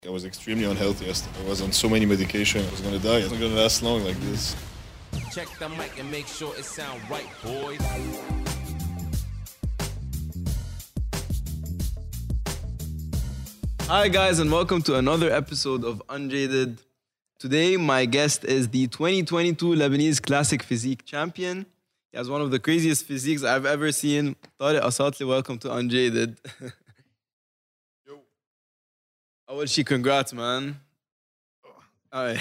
I was extremely unhealthy. I was on so many medication. I was gonna die. I wasn't gonna last long like this. Check the mic and make sure it sound right, boys. Hi guys, and welcome to another episode of Unjaded. Today my guest is the 2022 Lebanese Classic Physique Champion. He has one of the craziest physiques I've ever seen. Tariq Asatli, welcome to Unjaded. Yo. أول شي congrats man. Alright.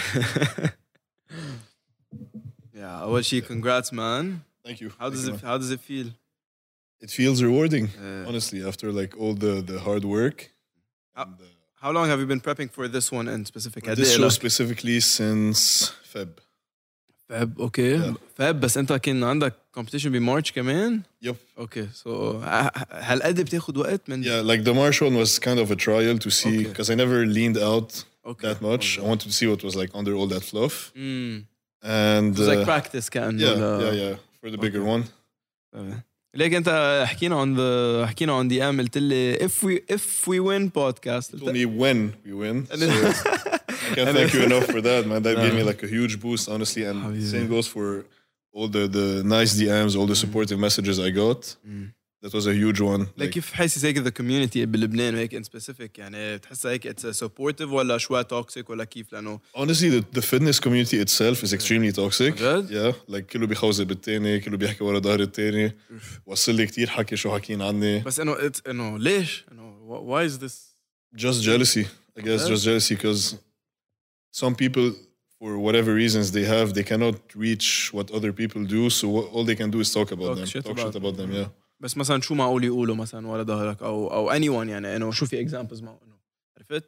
Yeah, أول شي congrats man. Thank you. How does it feel? It feels rewarding, honestly, after like all the hard work. And, How long have you been prepping for this one in specific? this show specifically since Feb. Feb, okay. Yeah. Feb, بس أنت كان عندك competition بمارش كمان? Yep. Okay, so هل قد بتاخد وقت من؟ Yeah, like the March one was kind of a trial to see, because I never leaned out that much. I wanted to see what was like under all that fluff. And It was like practice كأنه. yeah, for the bigger one. ليك أنت حكينا on the قلت لي if we win podcast. You told me when we win. So I can't thank you enough for that, man. That gave me like a huge boost, honestly. And same goes for all the nice DMs, all the supportive messages I got. That was a huge one. Like كيف حاسس هيك the community بلبنان هيك in specific يعني بتحسها هيك it's supportive ولا شوية toxic ولا كيف لأنه honestly the fitness community itself is extremely toxic. جد؟ Yeah, like كله بيخوزق بالتاني، كله بيحكي ورا ظهر التاني. وصل لي كتير حكي شو حكين عني. بس إنه ليش؟ why is this? Just jealousy, I guess. Just jealousy because some people, for whatever reasons they cannot reach what other people do. So all they can do is talk about them, talk shit about them. Yeah. بس مثلا شو معقول يقولوا مثلا ورا ظهرك أو anyone يعني إنه شو في examples معه إنه عرفت؟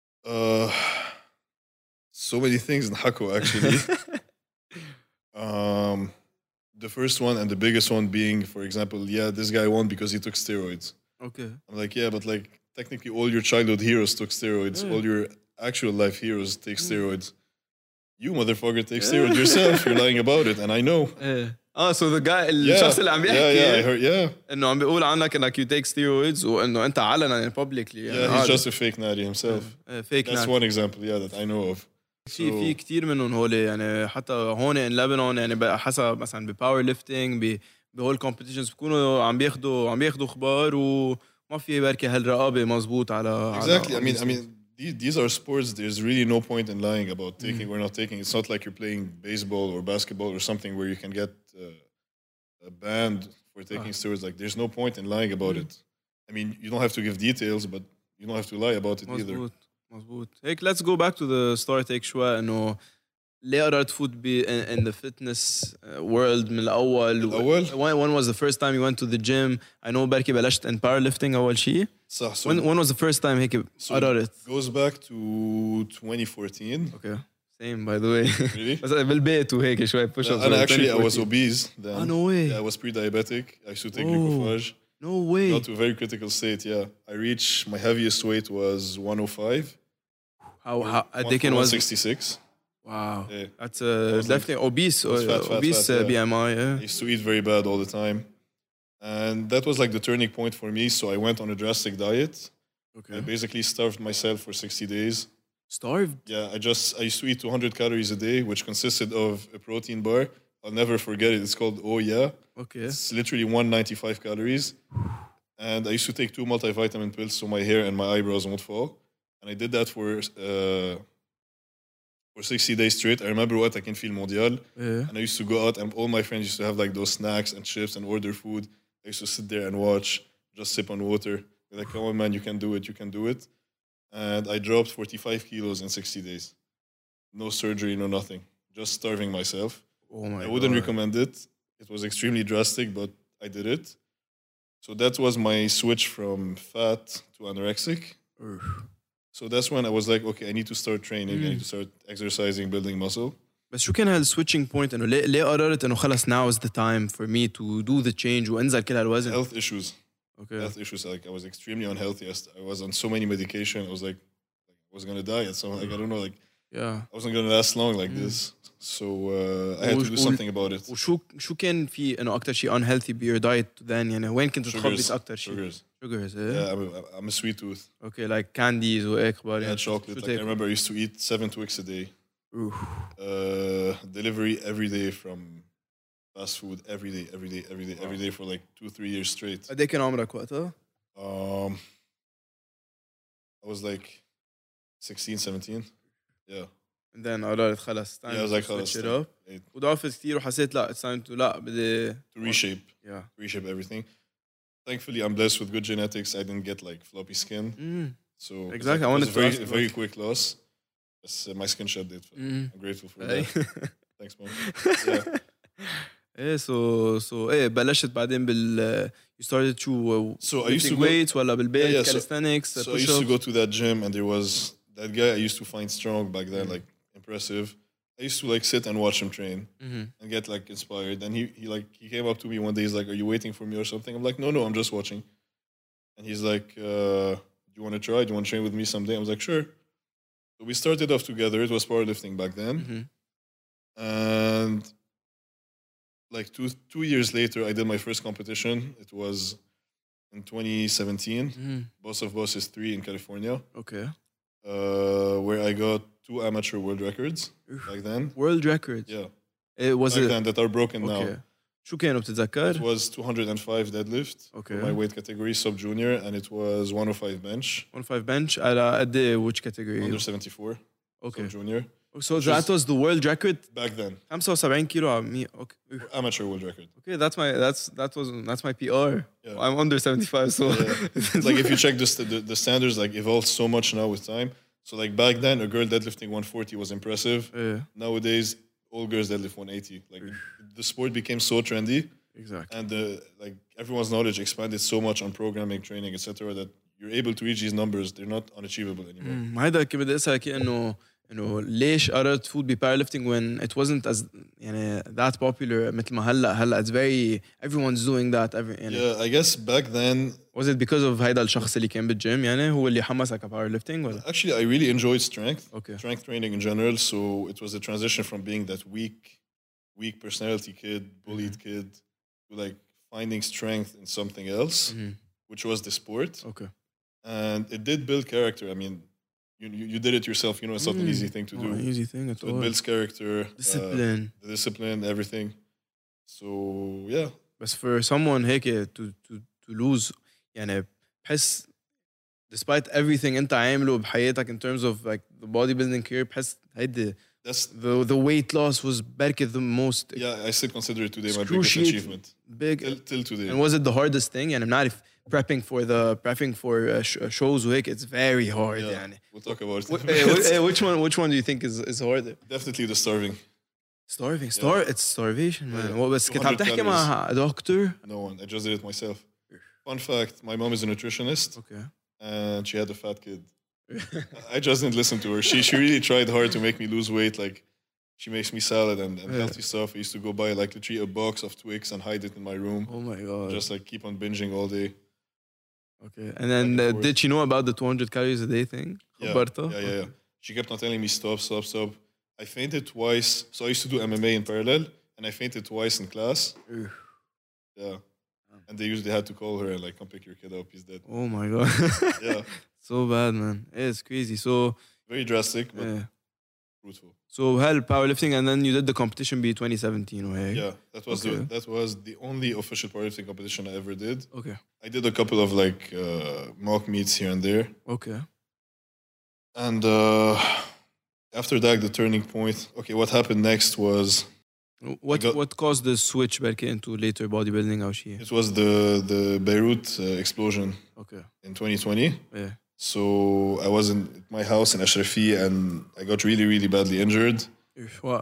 So many things نحكوا actually. The first one and the biggest one being, for example, yeah, this guy won because he took steroids. Okay. I'm like, yeah, but like technically all your childhood heroes took steroids. All your actual life heroes take steroids. You motherfucker take steroids yourself. You're lying about it, and I know. so the guy الشخص اللي عم بيحكي I heard, إنه عم بيقول عنك إنك you take steroids وإنه أنت علنا publicly يعني he's just a fake natty himself. fake That's one example, that I know of. في كتير منهم هول يعني حتى هون in Lebanon يعني بقى حسب مثلا بباور ليفتنج بهول competitions بيكونوا عم بياخدوا اخبار وما في بركي هالرقابه مزبوط على exactly. I mean these are sports. There's really no point in lying about taking or not taking. It's not like you're playing baseball or basketball or something where you can get a banned for taking steroids. Like there's no point in lying about it. I mean, you don't have to give details, but you don't have to lie about it either. مزبوط هيك let's go back to the start هيك شوي إنه ليه قررت تفوت in the fitness world من الأول when was the first time you went to the gym? I know بركي بلشت in powerlifting أول شيء. صح. So when was the first time هيك قررت؟ goes back to 2014. Okay. Same by the way. Really? بس بالبيت وهيك شوي push ups. And actually I was obese then. No way. Yeah, I was pre-diabetic. I used to take glucophage. No way. Got to a very critical state, yeah. I reached, my heaviest weight was 105. How Dickon was 166. Wow. Yeah. That's definitely obese fat, BMI, I used to eat very bad all the time. And that was like the turning point for me. So I went on a drastic diet. Okay. I basically starved myself for 60 days. Starved? Yeah, I used to eat 200 calories a day, which consisted of a protein bar. I'll never forget it. It's called Oh Yeah. Okay. It's literally 195 calories. And I used to take 2 multivitamin pills so my hair and my eyebrows won't fall. And I did that for 60 days straight. I remember what I can feel mondial. Yeah. And I used to go out and all my friends used to have like those snacks and chips and order food. I used to sit there and watch, just sip on water. They're like, come on, man, you can do it, you can do it. And I dropped 45 kilos in 60 days. No surgery, no nothing. Just starving myself. Oh my God. I wouldn't recommend it. It was extremely drastic, but I did it. So that was my switch from fat to anorexic. So that's when I was like, okay, I need to start training. I need to start exercising, building muscle. بس شو كان هالswitching point إنه ليه قررت إنه خلص now is the time for me to do the change وانزل كل هالوزن؟ Health issues. Okay. Health issues. Like I was extremely unhealthy. I was on so many medication. I was like I was gonna die. So like I don't know, like I wasn't gonna last long like this. So I had to do something about it. وشو كان في إنه أكتر شيء unhealthy بيور diet then يعني وين كنت تخبص أكتر شيء؟ Sugars, Yeah, I'm a sweet tooth. Okay, like candies وهيك Yeah, يعني. chocolate. Like, I remember I used to eat 7 Twix a day. Oof. Delivery every day from fast food every day for like 2-3 years straight. قد ايه كان عمرك وقتها؟ I was like 16, 17. Yeah. And then قررت خلص time Yeah, I was like, to switch خلاص, it like, up. it- وضعفت كتير وحسيت لا it's time to لا بدي to reshape yeah. everything. Thankfully, I'm blessed with good genetics. I didn't get like floppy skin. So Exactly, I it wanted was to very ask about- very quick loss. But my skin shed it. I'm grateful for that. Thanks, man. Yeah. ايه so ايه بلشت بعدين بال you started to So I used to lifting go- weights ولا بالبيت Yeah, so- calisthenics So I used to push-ups go to that gym, and there was that guy I used to find strong back then, like impressive. I used to like sit and watch him train and get like inspired. And he came up to me one day. He's like, "Are you waiting for me or something?" I'm like, "No, I'm just watching." And he's like, "Do you want to try? Do you want to train with me someday?" I was like, "Sure." So we started off together. It was powerlifting back then, and like two years later, I did my first competition. It was in 2017, Boss of Bosses 3 in California, okay where I got 2 amateur world records back then. world records Yeah, was back it then that are broken okay now. شو كانوا It بتتذكر؟ was 205 deadlift Okay. for my weight category, sub junior, and it was 105 bench, 105 bench على قد ايه which category؟ under 74, okay sub junior. so that was the world record Back then, 75 كيلو على 100 okay amateur world record. okay that's my PR Yeah. I'm under 75 so It's like if you check the standards, like evolved so much now with time. So like back then, a girl deadlifting 140 was impressive. yeah Nowadays, all girls deadlift 180. Like the sport became so trendy, exactly and like everyone's knowledge expanded so much on programming, training, etc. That you're able to reach these numbers. They're not unachievable anymore. ما هيدا كيف بدي اسالك انه ليش قررت تفوت بباور lifting when it wasn't as يعني that popular مثل ما هلا it's very everyone's doing that يعني Yeah, I guess back then, was it because of هيدا الشخص اللي كان بالجيم يعني هو اللي حمسك على باور lifting ولا actually, I really enjoyed Okay. strength training in general. So it was a transition from being that weak personality kid, bullied kid, to like finding strength in something else, which was the sport. okay And it did build character. I mean, you did it yourself. You know, it's not an easy thing to do. not an easy thing at So it all builds character, discipline the discipline, everything. So yeah, بس for someone هيك to lose يعني بحس despite everything انت عامله بحياتك in terms of like the bodybuilding career بحس هيدي that's the weight loss was بركة the most I still consider it today my biggest Excruciating. achievement big till today. and was it the hardest thing يعني بنعرف prepping for shows وهيك it's very hard Yeah, يعني we'll talk about it. which one do you think is harder Definitely the starving. it's starvation man Yeah. بس كنت 200 عم تحكي مع دكتور No one. I just did it myself. Fun fact: my mom is a nutritionist, okay and she had a fat kid. I just didn't listen to her. She really tried hard to make me lose weight. Like she makes me salad and healthy stuff. I used to go buy like literally a box of Twix and hide it in my room. oh my god Just like keep on binging all day. okay and then Back and forth. did she know about the 200 calories a day thing Yeah, خبرتها؟ yeah. She kept on telling me stop. I fainted twice. So I used to do MMA in parallel, and I fainted twice in class. Oof. Yeah. And they usually had to call her and like, come pick your kid up. He's dead. oh my god Yeah. so bad man it's crazy so Very drastic, but yeah. fruitful. So hell powerlifting and then you did the competition be 2017 وهيك Yeah. Okay. That was the only official powerlifting competition I ever did. okay I did a couple of like mock meets here and there. okay And after that, the turning point. Okay, what happened next was what caused the switch بركي into later bodybuilding أو شيء it was the Beirut explosion okay in 2020. yeah So I was in my house in Ashrafi and I got really, really badly injured. Oof, what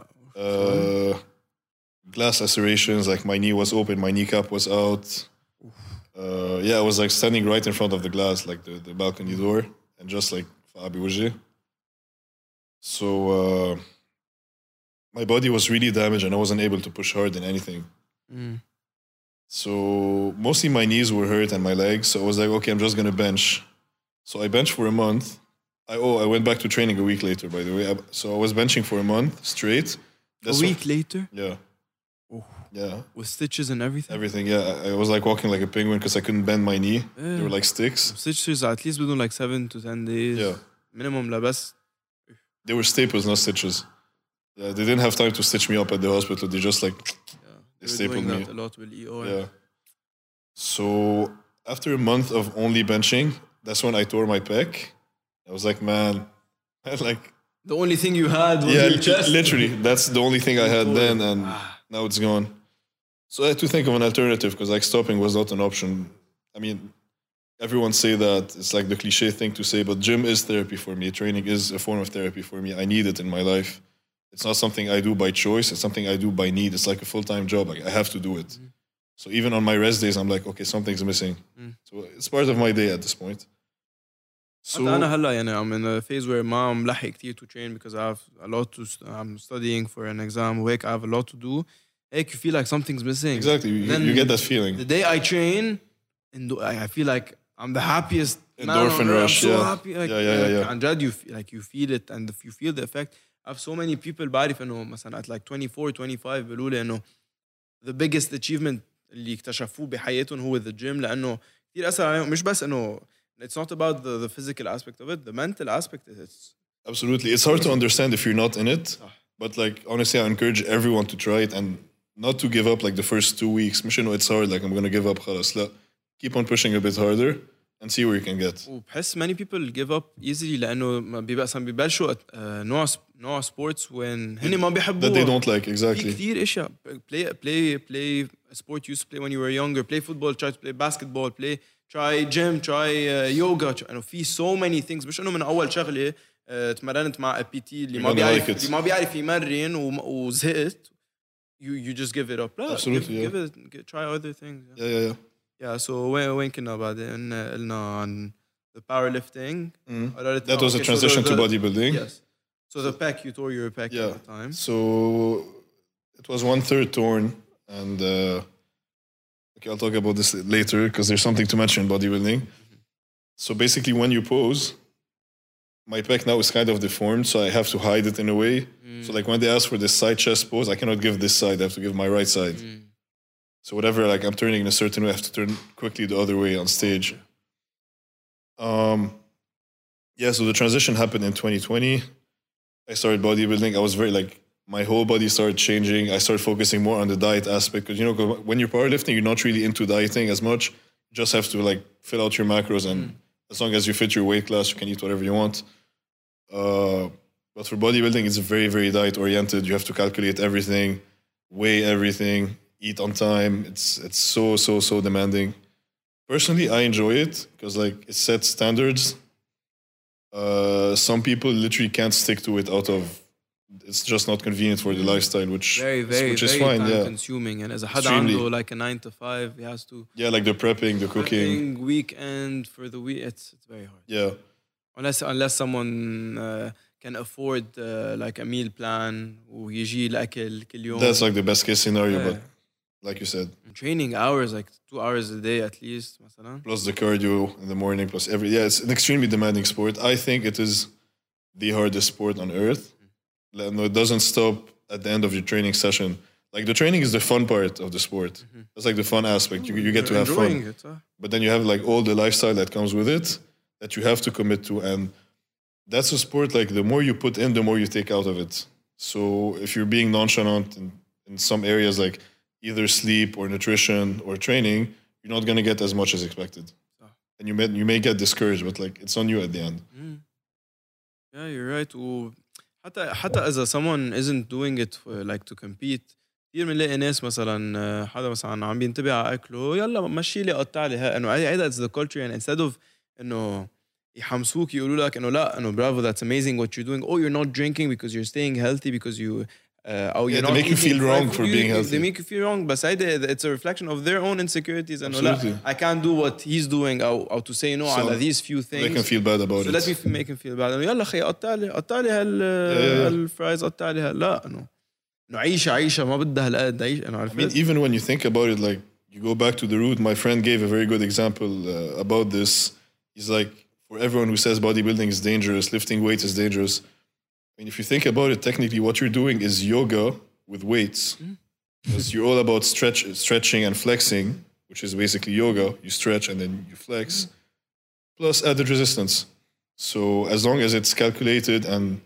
Glass lacerations, like my knee was open, my kneecap was out. Yeah, I was like standing right in front of the glass, like the balcony door, and just like Fabi Wajhi. So my body was really damaged and I wasn't able to push hard in anything. So mostly my knees were hurt and my legs. So I was like, okay, I'm just gonna bench. So I benched for a month. I went back to training a week later, by the way. So I was benching for a month straight. a week later Yeah. Yeah. with stitches and everything. Everything, yeah. I was like walking like a penguin because I couldn't bend my knee. They were like sticks. Stitches at least within like 7 to 10 days. Yeah. Minimum لبس. They were staples, not stitches. Yeah, they didn't have time to stitch me up at the hospital. They just like they They were stapled doing me. that a lot with EO. Yeah. So after a month of only benching, that's when I tore my pec. I was like, man, like The only thing you had was yeah, your chest. literally, that's the only thing I had then, and now it's gone. So I had to think of an alternative because like stopping was not an option. I mean, everyone say that it's like the cliche thing to say, but gym is therapy for me. Training is a form of therapy for me. I need it in my life. It's not something I do by choice. It's something I do by need. It's like a full-time job. Like, I have to do it. So even on my rest days, I'm like, okay, something's missing. So it's part of my day at this point. So حتى أنا هلا يعني I'm in a phase where ما ملحق كتير to train because I have a lot to I'm studying for an exam وهيك I have a lot to do. هيك you feel like something's missing. exactly, you get that feeling. The day I train, and I feel like I'm the happiest man on Endorphin earth. rush, I'm so yeah. happy. Like, Yeah. عن جد you feel it, and if you feel the effect. I have so many people بعرف إنه مثلا at like 24, 25 بيقولوا لي إنه the biggest achievement اللي اكتشفوه بحياتهم هو the gym لأنه كتير أثر عليهم. مش بس إنه it's not about the physical aspect of it, the mental aspect is it's Absolutely. It's hard to understand if you're not in it. But like honestly, I encourage everyone to try it and not to give up like the first 2 weeks. مش إنه it's hard, like I'm gonna give up خلاص. لا. Keep on pushing a bit harder and see where you can get. وبحس many people give up easily لأنه ما بيبلشوا نوع sports when هن ما بيحبوا That they don't like, في exactly. كتير اشياء play a sport you used to play when you were younger, play football, try to play basketball, try gym, try yoga. انه في so many things. مش انه من اول شغله تمرنت مع بي تي اللي ما You're gonna بيعرف like it. اللي ما بيعرف يمرن وزهقت you just give it up. لا, Absolutely, give it, try other things. Yeah. Yeah, so وين كنا بعدين قلنا عن the powerlifting. That was a transition to bodybuilding. Yes. So the pec, you tore your pec Yeah. at the time. So it was 1/3 torn, and okay, I'll talk about this later because there's something to mention in bodybuilding. So basically, when you pose, my pec now is kind of deformed, so I have to hide it in a way. So like when they ask for this side chest pose, I cannot give this side; I have to give my right side. So whatever, like I'm turning in a certain way, I have to turn quickly the other way on stage. Yeah, so the transition happened in 2020. I started bodybuilding. I was very like my whole body started changing. I started focusing more on the diet aspect because when you're powerlifting, you're not really into dieting as much. You just have to like fill out your macros, and as long as you fit your weight class, you can eat whatever you want. But for bodybuilding, it's very, very diet oriented. You have to calculate everything, weigh everything, eat on time. It's so demanding. Personally, I enjoy it because like it sets standards. Some people literally can't stick to it out of it's just not convenient for the lifestyle, which Very is fine. time Yeah, consuming. And as a حدا Extremely. عنده like a 9 to 5, he has to yeah, like the prepping, the cooking. weekend for the week. It's very hard. Yeah, Unless someone can afford like a meal plan ويجي الأكل كل يوم. that's like the best case scenario. Yeah. But like you said, Training hours like 2 hours a day at least مثلا. plus the cardio in the morning, plus it's an extremely demanding sport. I think it is the hardest sport on earth. No, it doesn't stop at the end of your training session. Like the training is the fun part of the sport. That's like the fun aspect. You get to have fun. Enjoying it, huh? But then you have like all the lifestyle that comes with it that you have to commit to. And that's a sport like the more you put in, the more you take out of it. So if you're being nonchalant in some areas like either sleep or nutrition or training, you're not going to get as much as expected. And you may get discouraged, but like it's on you at the end. Yeah, you're right. حتى إذا someone isn't doing it for, like to compete. كثير بنلاقي ناس مثلا حدا مثلا عم بينتبه على أكله يلا مشي لي قطع لي إنه هيدا it's the culture and instead of إنه يحمسوك يقولوا لك إنه لا إنه bravo that's amazing what you're doing. Oh, you're not drinking because you're staying healthy because you أو you're they not make you eating feel wrong fried for food. being healthy. They make you feel wrong بس هيدا it's a reflection of their own insecurities إنه لا Absolutely. I can't do what he's doing أو to say no So على these few things. They can feel bad about So it. let me make him feel bad. إنه يلا خي قطع لي هالفرايز قطع لي لا إنه عيشة ما بدها هالقد عيش إنه I mean, عرفت. even when you think about it, like you go back to the root. My friend gave a very good example about this. He's like, for everyone who says bodybuilding is dangerous, lifting weights is dangerous. I mean, if you think about it, technically what you're doing is yoga with weights. because you're all about stretching and flexing, which is basically yoga. You stretch and then you flex, plus added resistance. So as long as it's calculated and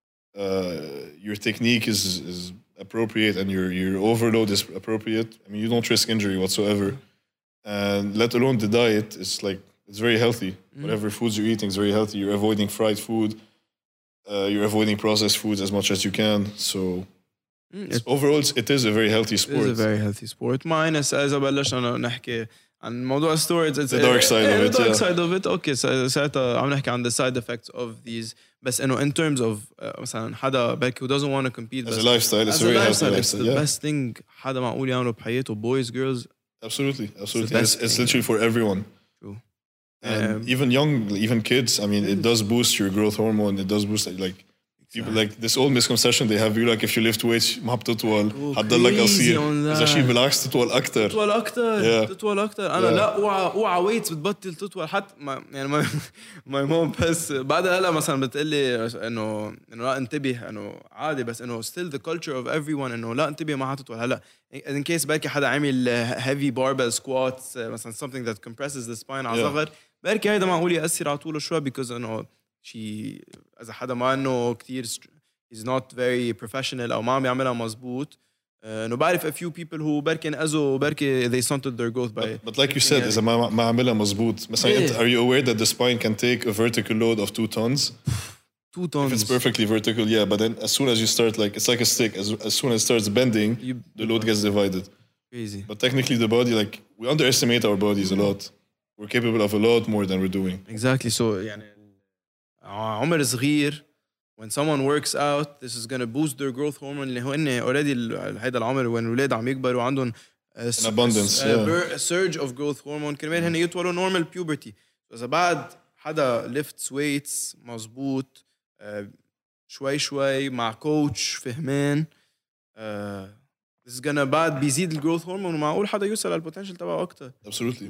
your technique is appropriate and your overload is appropriate, I mean, you don't risk injury whatsoever. And let alone the diet is like, it's very healthy. Whatever foods you're eating is very healthy. You're avoiding fried food. You're avoiding processed foods as much as you can. So overall, it is a very healthy sport. It is a very healthy sport. Minus إذا بلشنا نحكي عن موضوع steroids, it's The dark side of it. The dark side of it. Okay, ساعتها عم نحكي عن the side effects of these. بس إنه in terms of مثلا حدا back who doesn't want to compete. As a lifestyle, it's a very healthy lifestyle. It's the best thing حدا معقول يعمله بحياته. Boys, girls. Absolutely. It's literally for everyone. True. And even kids, I mean, it does boost your growth hormone. It does boost like people like this old misconception they have. You like if you lift weights ما بتطول حتضلك قصير. إذا شيء بالعكس تطول أكتر. تطول أكتر. أنا لا اوعى ويتس بتبطل تطول حتى يعني my mom بس بعدها هلا مثلا بتقلي إنه لا انتبه إنه عادي بس إنه still the culture of everyone إنه لا انتبه ما حتطول هلا in case بركي حدا عامل heavy barbell squats مثلا something that compresses the spine على صغر بركي هيدا معقول يأثر على طوله شوي because إنه شيء إذا حدا ما إنه كتير he's not very professional أو ما عم يعملها مزبوط إنه بعرف a few people who بركي انأذوا بركي they stunted their growth by but like you said إذا ما عملها مزبوط مثلا are you aware that the spine can take a vertical load of 2 tons? 2 tons. If it's perfectly vertical, yeah, but then as soon as you start like it's like a stick as soon as it starts bending the load gets divided. Crazy. But technically the body, like we underestimate our bodies a lot. We're capable of a lot more than we're doing. Exactly. So يعني عمر صغير when someone works out this is going to boost their growth hormone اللي هو إنه already هيدا العمر when الولاد عم يكبروا عندهم an abundance a surge of growth hormone كرمال هن يطولوا normal puberty. إذا بعد حدا lifts weights مزبوط شوي مع كوتش فهمان this is gonna بعد بيزيد الجروث هرمون ومعقول حدا يوصل للبوتنشل تبعه أكتر. Absolutely.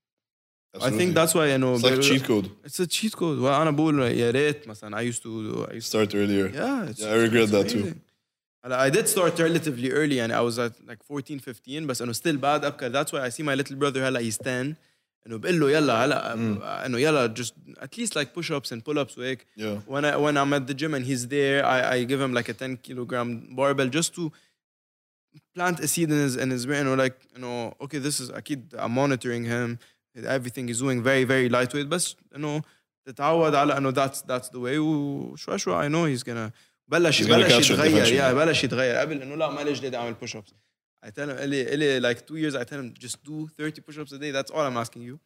I think that's why you know it's like a cheat code. It's a cheat code. وأنا بقول يا ريت مثلا I used to start earlier. Yeah, I regret that too. I did start relatively early and I was at like 14 15 بس إنه still بعد أبكر. That's why I see my little brother هلا he's 10 إنه بقول له يلا هلا إنه يلا just at least like push-ups and pull-ups وهيك. Yeah. When I'm at the gym and he's there I give him like a 10 kilogram barbell just to plant a seed in his brain. You know, like you know, okay, this is أكيد I'm monitoring him. Everything he's doing very very lightweight بس إنه تتعود على إنه that's the way وشوي I know he's gonna بلش يتغير. بلش يتغير قبل إنه لا ما ليش بدي أعمل push-ups. I tell him إلي like 2 years I tell him just do 30 push-ups a day. That's all I'm asking you.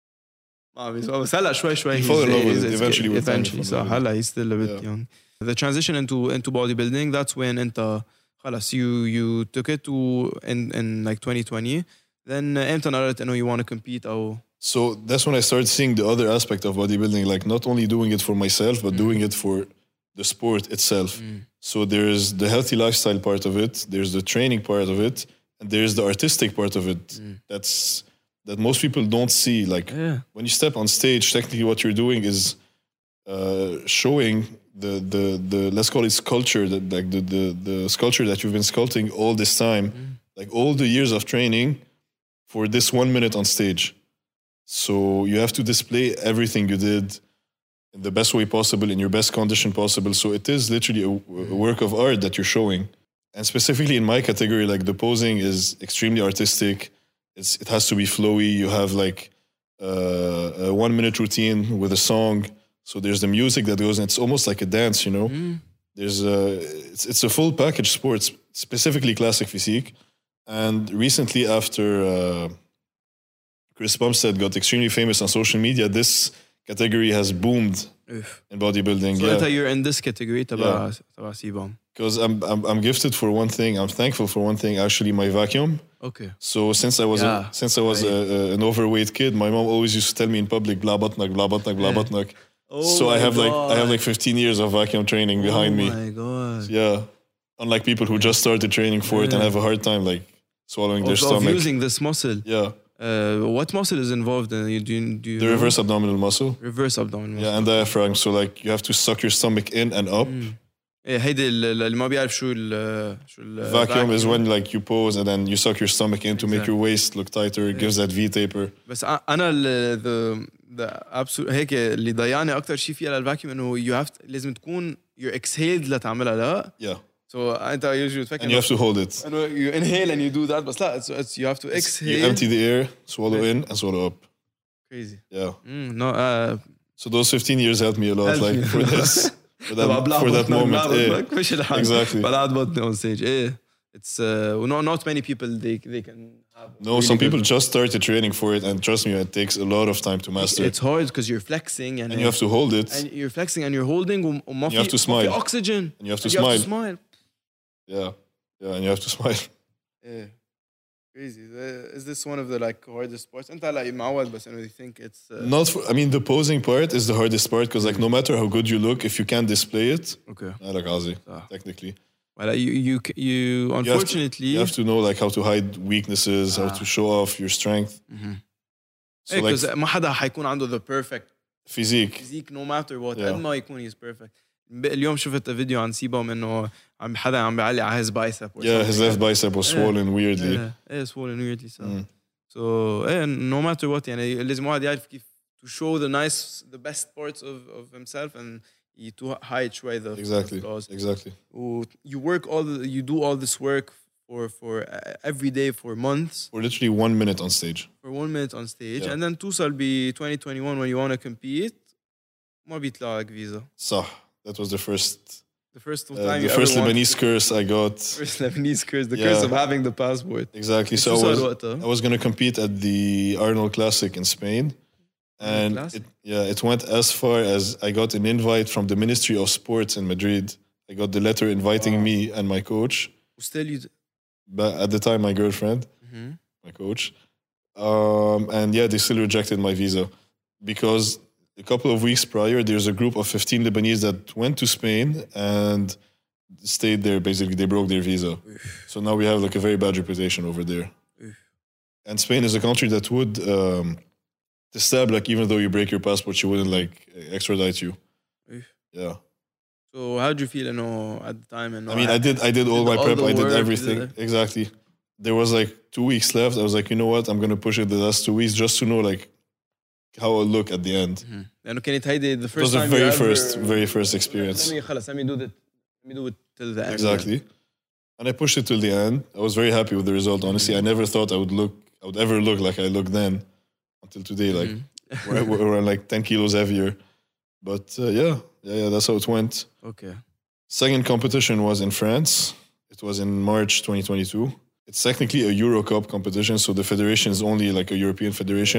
بس هلا شوي you fall in love with it eventually. So هلا he's still a bit young. The transition into bodybuilding, that's when أنت خلاص you took it to in like 2020. Then أنت قررت إنه you want to compete أو So that's when I started seeing the other aspect of bodybuilding, like not only doing it for myself, but doing it for the sport itself. So there's the healthy lifestyle part of it, there's the training part of it, and there's the artistic part of it. That most people don't see. Like when you step on stage, technically what you're doing is showing the let's call it sculpture, like the sculpture that you've been sculpting all this time, like all the years of training for this 1 minute on stage. So you have to display everything you did in the best way possible, in your best condition possible. So it is literally a work of art that you're showing. And specifically in my category, like the posing is extremely artistic. It has to be flowy. You have like a 1 minute routine with a song. So there's the music that goes, and it's almost like a dance, you know. There's it's a full package sport, specifically classic physique. And recently, after Chris Bumstead got extremely famous on social media, this category has boomed in bodybuilding. So you're in this category, تبع سيبام. Because I'm gifted for one thing. I'm thankful for one thing. Actually, my vacuum. Okay. So since I was an overweight kid, my mom always used to tell me in public, "Bla batnak, bla batnak, bla batnak." So I have like 15 years of vacuum training behind me. Oh my god. Yeah. Unlike people who just started training for it and have a hard time like swallowing their stomach. Of using this muscle. Yeah. What muscle is involved in do you the reverse abdominal muscle? Reverse abdominal muscle. Yeah, and diaphragm. So like you have to suck your stomach in and up. إيه هيدي اللي ما بيعرف شو ال Vacuum is when like you pose and then you suck your stomach in to make your waist look tighter. It gives that V taper. بس انا the absolute هيك اللي ضيعني اكثر شيء فيها للفاكيوم انه you have to, لازم تكون you're exhaled لتعملها لا. Yeah. So انت usually تفكر And you have to hold it. انه you inhale and you do that بس لا it's you have to exhale. You empty the air, swallow in and swallow up. Crazy. Yeah. No So those 15 years helped me a lot, Helped like you. for this, for that moment. Yeah. مش الحال. Exactly. بلعت بطني on stage. إيه. It's not many people they can have. No, some people just started training for it, and trust me, it takes a lot of time to master. It's hard because you're flexing and And you have to hold it. and you're flexing and you're holding وما You have to smile. في oxygen. And you have to And you have to smile. smile. Yeah, yeah, and you have to smile. Yeah. Crazy. Is this one of the like hardest parts? انت هلا معود بس انه you think it's Not for, I mean, the posing part is the hardest part because, like, no matter how good you look, if you can't display it, okay. like Azi, technically. Well, you unfortunately you have to know like how to hide weaknesses, how to show off your strength. So like because ما حدا حيكون عنده the perfect physique. physique no matter what. Yeah. قد ما يكون he's perfect. اليوم شفت فيديو عن سيبهم انه حدا عم بيعلي على his bicep. Yeah, his left bicep was swollen weirdly. Yeah, swollen weirdly. So no matter what يعني لازم واحد يعرف كيف to show the best parts of himself and to hide شوي the flaws. Exactly. You do all this work for every day for months. For literally 1 minute on stage. For 1 minute on stage, Yeah. and then توصل ب 2021 when you want to compete. ما بيطلع لك فيزا. صح. That was the first time the you first ever Lebanese curse I got. First Lebanese curse, the curse of having the passport. Exactly. So I was going to compete at the Arnold Classic in Spain. And it went as far as I got an invite from the Ministry of Sports in Madrid. I got the letter inviting me and my coach. Still you But at the time, my girlfriend, my coach. And yeah, they still rejected my visa because a couple of weeks prior, there's a group of 15 Lebanese that went to Spain and stayed there. Basically, they broke their visa. So now we have like a very bad reputation over there. And Spain is a country that would stab, like, even though you break your passport, she wouldn't like extradite you. Yeah. So how did you feel, at the time? I mean, I did all my prep. I did everything. Exactly. There was like 2 weeks left. I was like, you know what? I'm going to push it the last 2 weeks just to know like how I'll look at the end. لأنه كانت هيدي the It first was the time very first experience. let me do it till the end. Exactly. And I pushed it till the end. I was very happy with the result. Honestly, I never thought I would ever look like I looked then until today. Like we're like 10 kilos heavier. But yeah, that's how it went. Okay. Second competition was in France. It was in March 2022. It's technically a Euro Cup competition, so the federation is only like a European federation.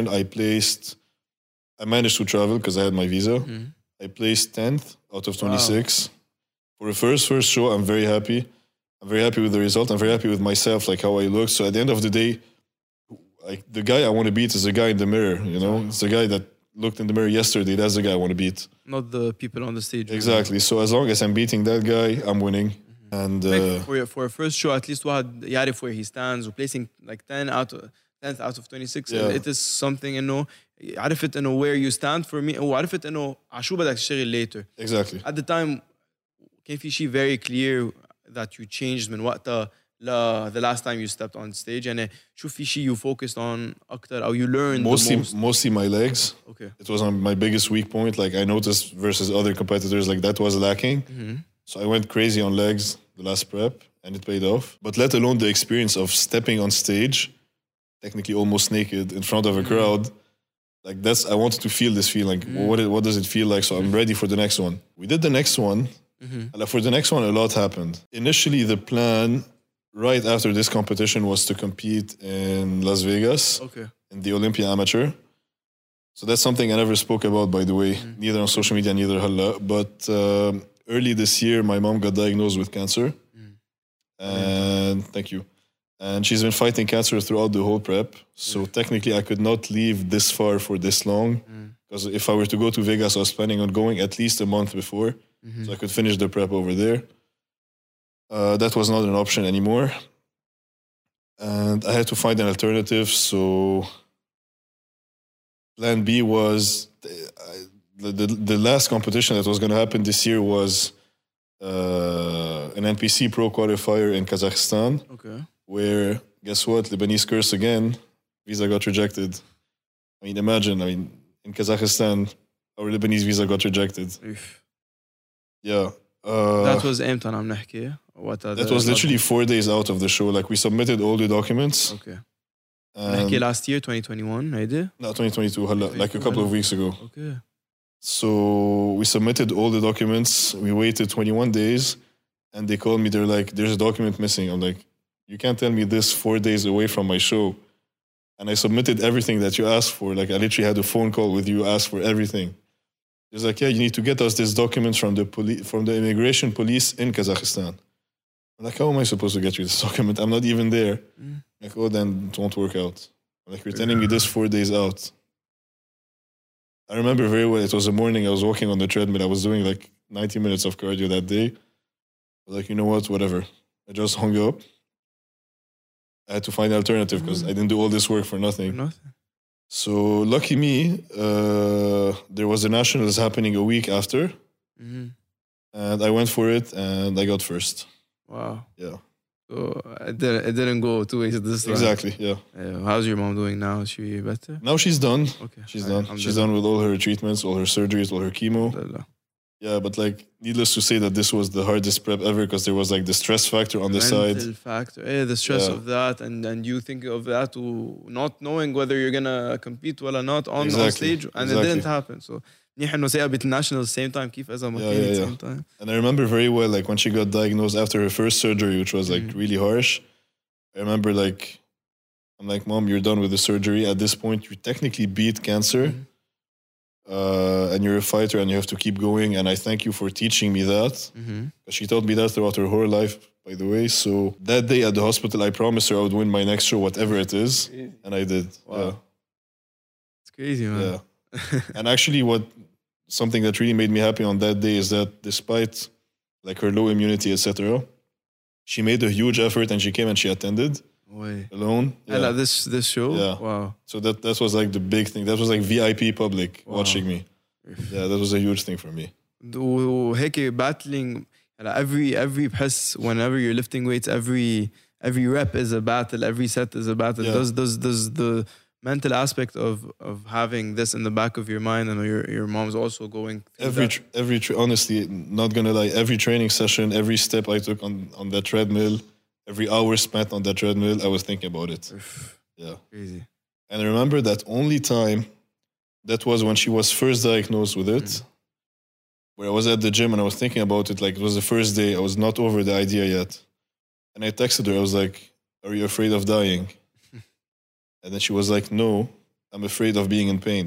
I managed to travel because I had my visa. I placed 10th out of 26. For the first show, I'm very happy. I'm very happy with the result. I'm very happy with myself, like how I look. So at the end of the day, like the guy I want to beat is the guy in the mirror, It's the guy that looked in the mirror yesterday. That's the guy I want to beat. Not the people on the stage. Exactly. So as long as I'm beating that guy, I'm winning. And for a first show, at least واحد يعرف where he stands. Placing like 10th out of 26. Yeah. It is something عرفت where you stand for me وعرفت عشو بدك تشتغل later. Exactly. At the time كان في شيء very clear that you changed من وقتها the last time you stepped on stage يعني شو في شيء you focused on أكتر أو you learned mostly my legs. Okay. It was on my biggest weak point. Like I noticed versus other competitors, like that was lacking. So I went crazy on legs the last prep and it paid off. But let alone the experience of stepping on stage, technically almost naked in front of a crowd. Like I wanted to feel this feeling. What does it feel like? So I'm ready for the next one. We did the next one. For the next one, a lot happened. Initially, the plan right after this competition was to compete in Las Vegas in the Olympia Amateur. So that's something I never spoke about, by the way, neither on social media, neither halla. But early this year, my mom got diagnosed with cancer. And thank you. And she's been fighting cancer throughout the whole prep. So technically, I could not leave this far for this long. Because if I were to go to Vegas, I was planning on going at least a month before. So I could finish the prep over there. That was not an option anymore. And I had to find an alternative. So plan B was the last competition that was going to happen this year was an NPC Pro qualifier in Kazakhstan, Okay. where, guess what, Lebanese curse again, visa got rejected. I mean, imagine, in Kazakhstan, our Lebanese visa got rejected. Oof. Yeah. That was امتى عم نحكي? What are That the- was literally 4 days out of the show. Like, we submitted all the documents. Okay. And نحكي last year 2021 هيدي؟ no, 2022, like a couple of weeks ago. Okay. So we submitted all the documents. We waited 21 days, and they called me. They're like, "There's a document missing." I'm like, "You can't tell me this 4 days away from my show." And I submitted everything that you asked for. Like, I literally had a phone call with you, asked for everything. It's like, "Yeah, you need to get us this document from the immigration police in Kazakhstan." I'm like, "How am I supposed to get you this document? I'm not even there." Like, "Oh, then it won't work out." I'm like, "You're telling me this 4 days out." I remember very well. It was a morning. I was walking on the treadmill. I was doing like 90 minutes of cardio that day. I was like, you know what? Whatever. I just hung up. I had to find an alternative because I didn't do all this work for nothing. Nothing. So lucky me, there was a nationals happening a week after, and I went for it and I got first. Wow. Yeah, So it didn't go two ways this time. exactly. Yeah. How's your mom doing now? Is she better? Now she's done. Okay. She's done. She's done with all her treatments, all her surgeries, all her chemo. Alhamdulillah. Yeah, but like, needless to say that this was the hardest prep ever because there was like the stress factor on the side. Mental factor. The stress Yeah. of that and you think of that to not knowing whether you're gonna compete or not on Exactly. stage and it didn't happen. So منيح انه سيقبل الناشونال same time كيف اذا ما كان same time. And I remember very well, like when she got diagnosed after her first surgery, which was like really harsh. I remember like, I'm like, Mom, you're done with the surgery. At this point, you technically beat cancer. And you're a fighter and you have to keep going. And I thank you for teaching me that. She taught me that throughout her whole life, by the way. So that day at the hospital, I promised her I would win my next show, whatever it is. And I did. Wow. It's crazy, man. Yeah. And actually, something that really made me happy on that day is that despite like her low immunity, etc., she made a huge effort and she came and she attended Way. alone. And at this show? Yeah. Wow. So that was like the big thing. That was like VIP public watching me. Yeah, that was a huge thing for me. وهيك battling every press whenever you're lifting weights every rep is a battle, every set is a battle. Yeah. Does the mental aspect of having this in the back of your mind and your mom's also going through honestly, not gonna lie, every training session, every step I took on that treadmill, every hour spent on that treadmill, I was thinking about it. Yeah. Crazy. And I remember that only time, that was when she was first diagnosed with it, where I was at the gym and I was thinking about it, like it was the first day, I was not over the idea yet. And I texted her, I was like, "Are you afraid of dying?" And then she was like, "No, I'm afraid of being in pain."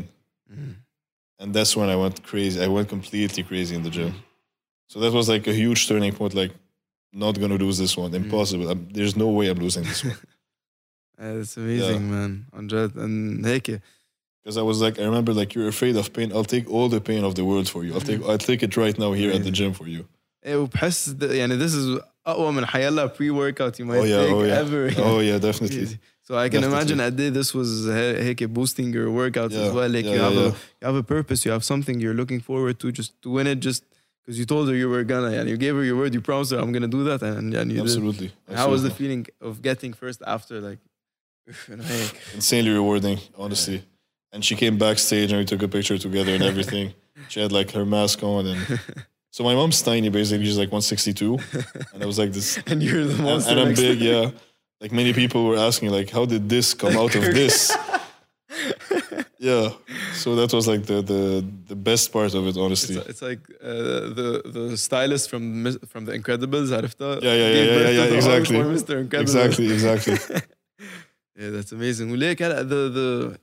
And that's when I went crazy. I went completely crazy in the gym. So that was like a huge turning point, like, not gonna lose this one. Impossible. There's no way I'm losing this one. It's amazing, man. عن جد. And هيك. Because I was like, I remember like, "You're afraid of pain. I'll take all the pain of the world for you. I'll take it right now here at the gym for you." وبحس يعني this is أقوى من حيلا pre-workout you might take ever. Oh yeah, definitely. So I can imagine a day this was هيك boosting your workouts as well. Like you have a purpose, you have something you're looking forward to, just to win it, just because you told her you were gonna, and you gave her your word, you promised her I'm gonna do that, and you Absolutely. did. How was the feeling of getting first after like? Insanely rewarding, honestly. And she came backstage and we took a picture together and everything. She had like her mask on and. So my mom's tiny, basically. She's like 162, and I was like this. And you're the monster. And I'm big, yeah. Like many people were asking, like, how did this come out of this? Yeah. So that was like the best part of it, honestly. It's like the stylist from the Incredibles, عرفتها? Yeah. Exactly. Mr. Incredible. Exactly. Yeah, that's amazing. وليك هلا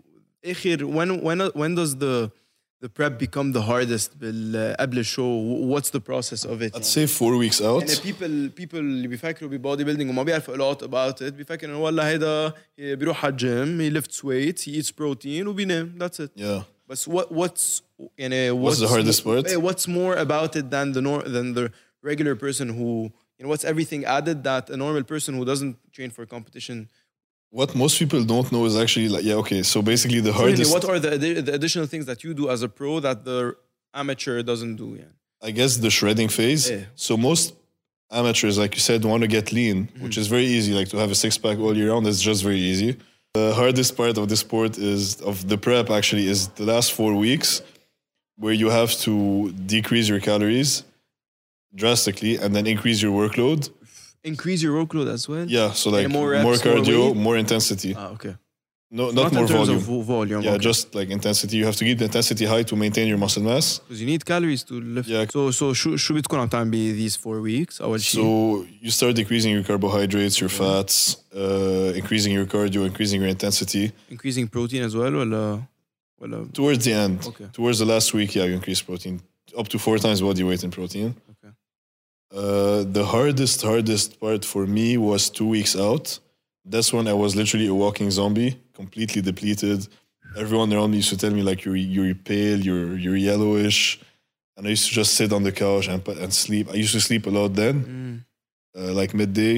when does the prep become the hardest قبل الشو? What's the process of it? I'd say 4 weeks out. يعني people اللي بيفكروا ببودي بيلدينج وما بيعرفوا a lot about it بيفكر انه والله هيدا بيروح على الجيم, he lifts weights, he eats protein وبينام. That's it. Yeah. But what's the hardest part? What's more about it than the regular person who, what's everything added that a normal person who doesn't train for competition? What most people don't know is actually like, okay, so basically the hardest... What are the additional things that you do as a pro that the amateur doesn't do? Yeah. I guess, the shredding phase. Yeah. So most amateurs, like you said, want to get lean, which is very easy. Like to have a six-pack all year round, that's just very easy. The hardest part of the sport of the prep actually is the last 4 weeks, where you have to decrease your calories drastically and then increase your workload. Increase your workload as well. Yeah, so like more more reps, more cardio, weight? more intensity. Okay. No, not Not more in terms volume. of volume. Yeah, okay. just like intensity. You have to keep the intensity high to maintain your muscle mass. Because you need calories to lift. Yeah. So شو بتكون عم تعمل these 4 weeks أول شيء؟ So you start decreasing your carbohydrates, your fats, increasing your cardio, increasing your intensity. Increasing protein as well ولا Towards the end, Okay. towards the last week, yeah, you increase protein up to 4 times body weight in protein. Okay. The hardest part for me was 2 weeks out. That's when I was literally a walking zombie, completely depleted. Everyone around me used to tell me like you're pale, you're yellowish, and I used to just sit on the couch and sleep. I used to sleep a lot then, like midday.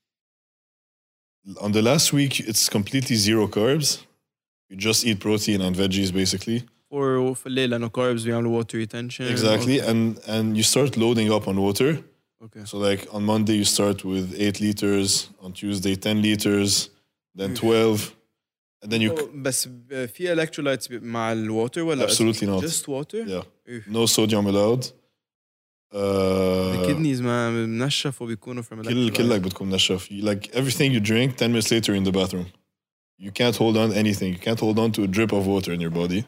On the last week, it's completely zero carbs. You just eat protein and veggies basically. Or في الليل لأنه carbs بيعملوا water retention. Exactly, and you start loading up on water. Okay. So like on Monday you start with 8 liters, on Tuesday 10 liters, then 12, and then you بس في electrolytes مع الwater ولا Absolutely not. just water? yeah, Oof. no sodium allowed. The kidneys ما منشفوا بيكونوا from electrolytes. كلك بتكون نشف. Like everything you drink 10 minutes later in the bathroom. You can't hold on to anything. You can't hold on to a drip of water in your body.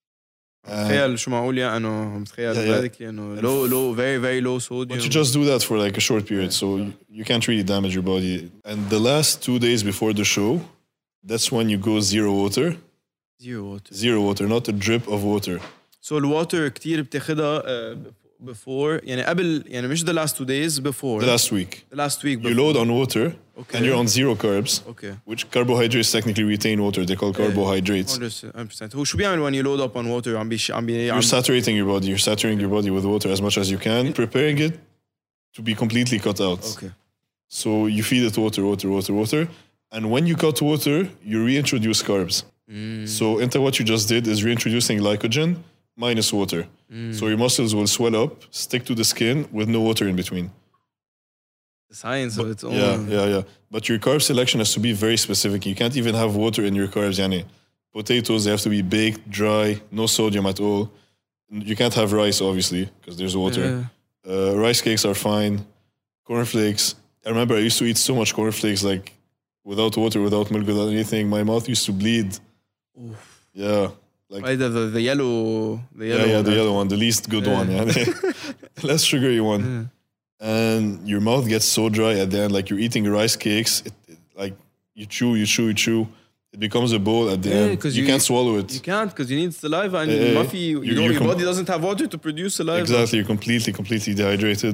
تخيل شو معقول يعني انه متخيل ذلك انه low very very low sodium. But you just do that for like a short period, so you can't really damage your body. And the last 2 days before the show, that's when you go zero water. Zero water, not a drip of water. So الwater كتير بتاخدها before يعني قبل يعني مش the last 2 days before. The last week. The last week before. You load on water, Okay. and you're on zero carbs. Okay. Which carbohydrates technically retain water. They call carbohydrates. 100%. هو شو بيعمل when you load up on water You're saturating your body. You're saturating your body with water as much as you can, preparing it to be completely cut out. Okay. So you feed it water. And when you cut water, you reintroduce carbs. So what you just did is reintroducing glycogen minus water. So your muscles will swell up, stick to the skin with no water in between. The science of its own. Yeah. But your carb selection has to be very specific. You can't even have water in your carbs. Yani. Potatoes, they have to be baked, dry, no sodium at all. You can't have rice, obviously, because there's water. Rice cakes are fine. Cornflakes. I remember I used to eat so much cornflakes, like without water, without milk, without anything. My mouth used to bleed. Oof. Yeah. Like, the yellow. The yellow one, the least good one. Yeah. The less sugary one. And your mouth gets so dry at the end, like you're eating rice cakes. Like you chew. It becomes a bowl at the end. You can't swallow it. You can't because you need saliva and your body doesn't have water to produce saliva. Exactly, you're completely dehydrated.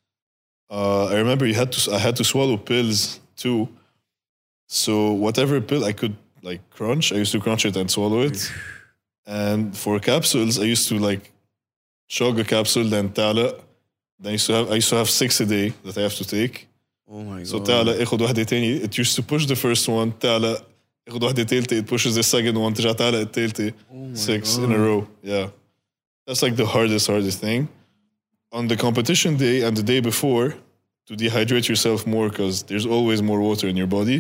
I remember I had to swallow pills too. So whatever pill I could like crunch, I used to crunch it and swallow it. And for capsules, I used to like chug a capsule, then tala. Then I used to have 6 a day that I have to take. Oh my god. So tala, اخد واحدة تاني. It used to push the first one. Tala, اخد واحدة تالتة. It pushes the second one. ترجع تala التالتة. 6 in a row. Yeah. That's like the hardest thing. On the competition day and the day before, to dehydrate yourself more because there's always more water in your body.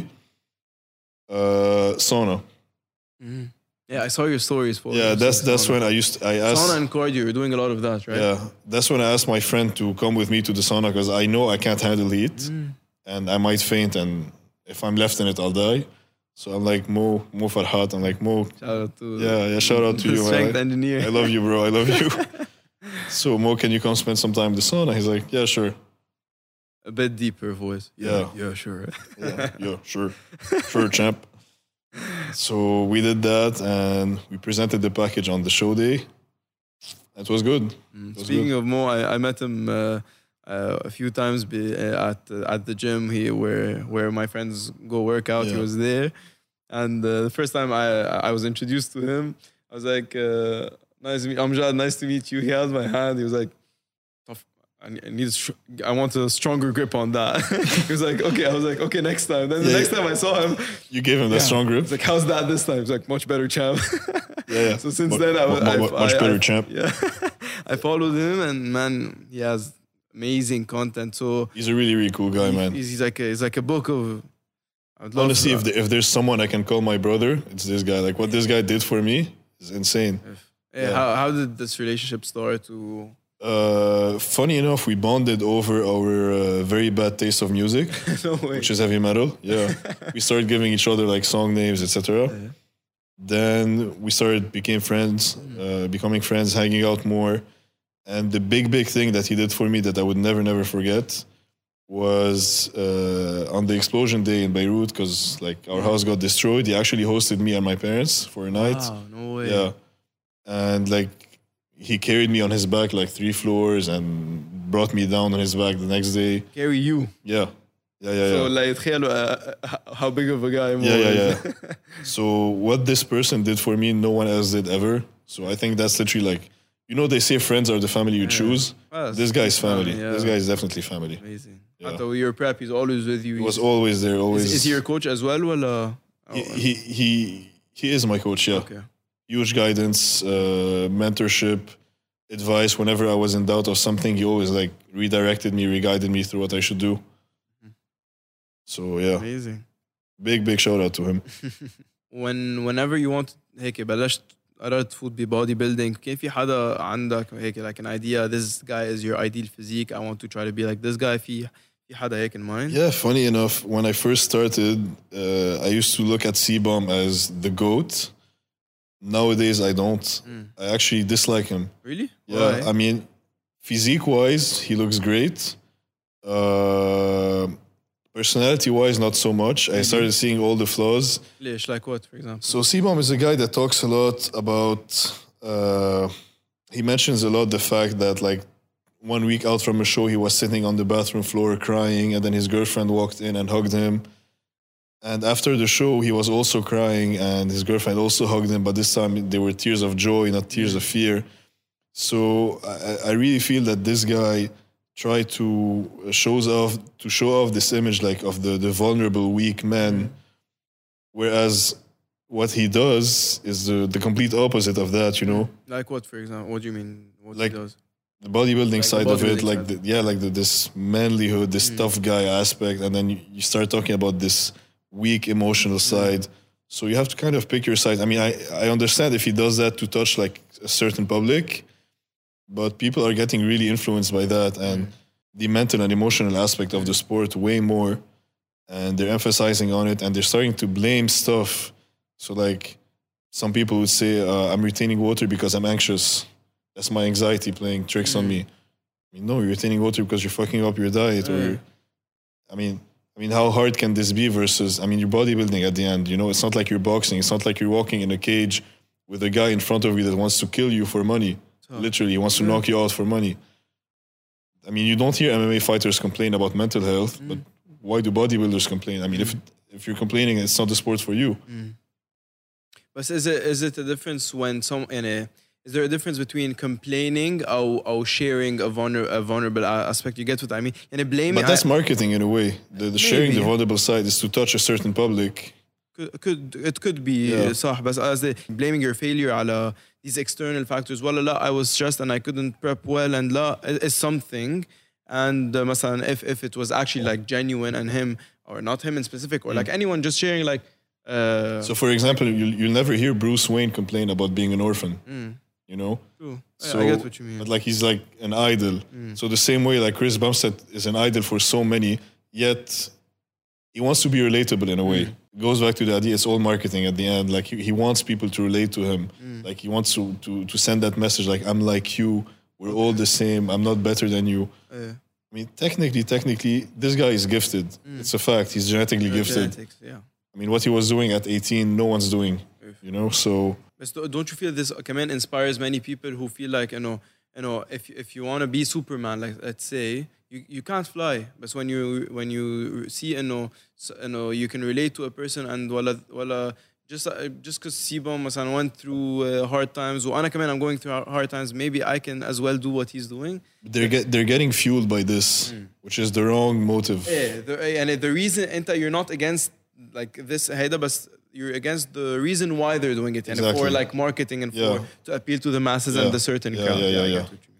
Sauna. Yeah, I saw your stories for. Yeah, that's when I asked sauna and cardio. You're doing a lot of that, right? Yeah, that's when I asked my friend to come with me to the sauna because I know I can't handle heat and I might faint, and if I'm left in it, I'll die. So I'm like Mo Farhat. I'm like Mo. Shout out to shout out to you, strength man. engineer. I love you, bro. I love you. So Mo, can you come spend some time in the sauna? He's like, yeah, sure. A bit deeper voice. Yeah, sure. yeah, sure, champ. So we did that and we presented the package on the show day. It was good. Speaking of Mo, I met him a few times at the gym where my friends go work out. He was there, and the first time I was introduced to him, I was like, "Nice to meet Amjad. Nice to meet you." He held my hand. He was like, I want a stronger grip on that. He was like, okay. I was like, okay, next time. Then the next time I saw him, you gave him that strong grip. He's like, how's that this time? He's like, much better, champ. Yeah. So since then, much better, champ. Yeah, I followed him, and man, he has amazing content. So He's a really, really cool guy, man. he's like a book of. I'd love Honestly, to- if there's someone I can call my brother, it's this guy. Like what this guy did for me is insane. Yeah, how did this relationship start? To Funny enough, we bonded over our very bad taste of music, no way. which is heavy metal. Yeah, we started giving each other like song names, etc. Then we became friends, becoming friends, hanging out more. And the big thing that he did for me that I would never forget was on the explosion day in Beirut, because like our house got destroyed. He actually hosted me and my parents for a night. Wow, no way. Yeah, and like he carried me on his back like 3 floors and brought me down on his back the next day. Carry you. Yeah. So like تخيلوا how big of a guy Mo Yeah. is. So what this person did for me, no one else did ever. So I think that's literally like, they say friends are the family you choose. Well, This guy's family. yeah. This guy is definitely family. Amazing. Yeah. After you're prep, he's always with you. He was always there, always. Is he your coach as well? Well, He is my coach. Yeah. okay. Huge guidance, mentorship, advice. Whenever I was in doubt of something, he always like redirected me, re-guided me through what I should do. So yeah, Amazing. big shout out to him. Whenever you want هيك بلشت قررت تفوت ببودي building كان في حدا عندك هيك like an idea this guy is your ideal physique I want to try to be like this guy في حدا هيك in mind? Yeah, funny enough, when I first started, I used to look at C-Bomb as the GOAT. Nowadays, I don't. I actually dislike him. Really? Yeah, Why? I mean, physique-wise, he looks great. Personality-wise, not so much. I started seeing all the flaws. ليش like what for example? So C-Bomb is a guy that talks a lot about. He mentions a lot the fact that like 1 week out from a show, he was sitting on the bathroom floor crying, and then his girlfriend walked in and hugged him. And after the show, he was also crying, and his girlfriend also hugged him. But this time, they were tears of joy, not tears of fear. So I really feel that this guy tried to show off this image like of the vulnerable, weak man, whereas what he does is the complete opposite of that. Like what for example? What do you mean? What Like- he does? The bodybuilding Like the side of it, bodybuilding like this manlyhood, this tough guy aspect, and then you start talking about this weak emotional side. So you have to kind of pick your side. I mean, I understand if he does that to touch like a certain public, but people are getting really influenced by that and the mental and emotional aspect of the sport way more, and they're emphasizing on it, and they're starting to blame stuff. So like some people would say, I'm retaining water because I'm anxious. That's my anxiety playing tricks on me. I mean, no, you're retaining water because you're fucking up your diet. Or, I mean, how hard can this be versus, I mean, you're bodybuilding at the end, it's not like you're boxing. It's not like you're walking in a cage with a guy in front of you that wants to kill you for money. Literally, he wants to knock you out for money. I mean, you don't hear MMA fighters complain about mental health, but why do bodybuilders complain? I mean, if you're complaining, it's not the sport for you. But is it a difference when is there a difference between complaining or sharing a vulnerable aspect? You get what I mean? And blaming. But that's marketing in a way. The sharing the Maybe. vulnerable side is to touch a certain public. It could be Yeah. صح بس قصدي blaming your failure على these external factors ولا لا I was stressed and I couldn't prep well and لا is something and مثلا if it was actually like genuine and him or not him in specific or like anyone just sharing like So, for example, you'll never hear Bruce Wayne complain about being an orphan. true. So, I get what you mean. But like he's like an idol. So the same way like Chris Bumstead is an idol for so many, yet he wants to be relatable in a way. It goes back to the idea it's all marketing at the end. Like he wants people to relate to him. Like he wants to send that message like I'm like you, we're all the same, I'm not better than you. I mean, technically, this guy is gifted. It's a fact. He's genetically gifted. Genetics, yeah. I mean, what he was doing at 18, no one's doing. So But don't you feel this كمان inspires many people who feel like if you want to be Superman, like let's say you can't fly, but when you see you can relate to a person and ولا just because C-Bomb مثلا went through hard times وأنا كمان I'm going through hard times, maybe I can as well do what he's doing. they're getting fueled by this, which is the wrong motive. And the reason you're not against like this هيدا بس you're against the reason why they're doing it and for Exactly. like marketing and Yeah. for to appeal to the masses and the certain crowd. Yeah. I get what you mean.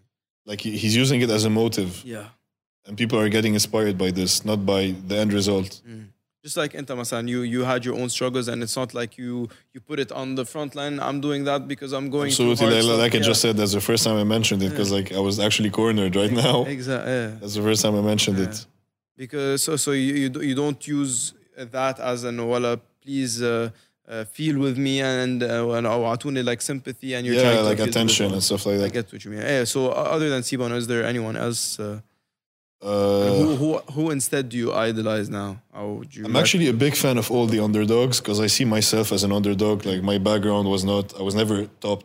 Like he's using it as a motive, Yeah. and people are getting inspired by this, not by the end result. Just like انت مثلا you had your own struggles and it's not like you put it on the front line. I'm doing that because I'm going through Absolutely, hard like stuff. I just said, that's the first time I mentioned it because like I was actually cornered right now. Exactly. Yeah. That's the first time I mentioned it. Because so you don't use that as an wala please feel with me and أو أعطوني like sympathy and you're trying Yeah, to like appeal to attention the and stuff like I that. get what you mean. Yeah, so other than Sibon, is there anyone else? Who instead do you idolize now? How would you I'm actually a big fan of all the underdogs because I see myself as an underdog. Like my background was not, I was never top.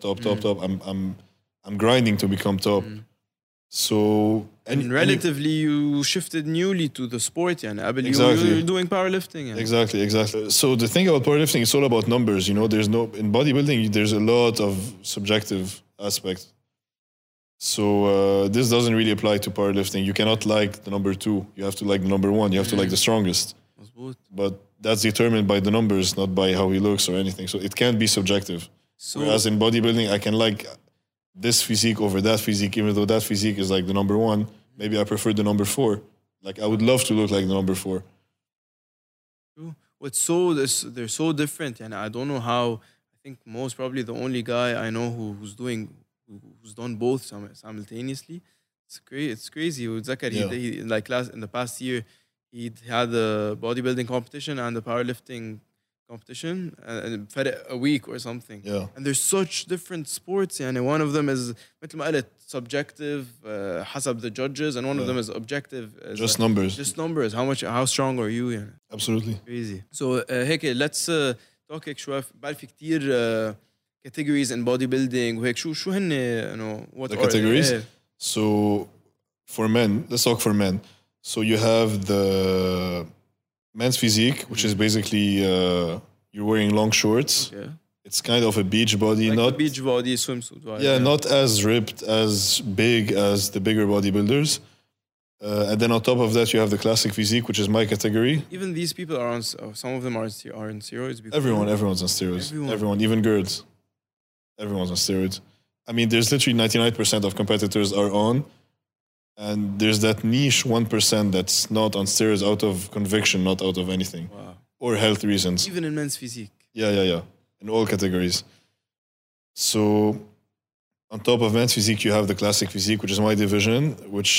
I'm grinding to become top. So and relatively you shifted newly to the sport يعني قبل Exactly. you're doing powerlifting يعني. Exactly. So the thing about powerlifting, it's all about numbers. You know, there's no in bodybuilding. There's a lot of subjective aspect. So this doesn't really apply to powerlifting. You cannot like the number 2. You have to like the number 1. You have to like the strongest. مظبوط. But that's determined by the numbers, not by how he looks or anything. So it can't be subjective. So Whereas in bodybuilding, I can like this physique over that physique, even though that physique is like the number 1. Maybe I prefer the number 4. Like I would love to look like the number 4. what's they're so different and I don't know how. I think most probably the only guy I know who's done both simultaneously. It's crazy. وتذكر he like in the past year he had the bodybuilding competition and the powerlifting competition and فرق a week or something. Yeah. And there's such different sports يعني one of them is مثل ما قلت subjective حسب the judges and one of them is objective as Just numbers. just numbers. How strong are you يعني. Absolutely. Crazy. So هيك let's talk هيك شوي. بعرف في كتير categories in bodybuilding وهيك شو هن what The are categories? إيه. So for men, let's talk for men. So you have the men's physique, which is basically you're wearing long shorts. Okay. It's kind of a beach body, Like not the beach body swimsuit vibe. yeah, not as ripped, as big as the bigger bodybuilders. And then on top of that, you have the classic physique, which is my category. Even these people are on. Some of them are on steroids. Because Everyone's on steroids. Everyone. Even girls. Everyone's on steroids. I mean, there's literally 99% of competitors are on, and there's that niche 1% that's not on steroids out of conviction, not out of anything, Wow. or health reasons. Even in men's physique. Yeah. In all categories. So, on top of men's physique, you have the classic physique, which is my division, which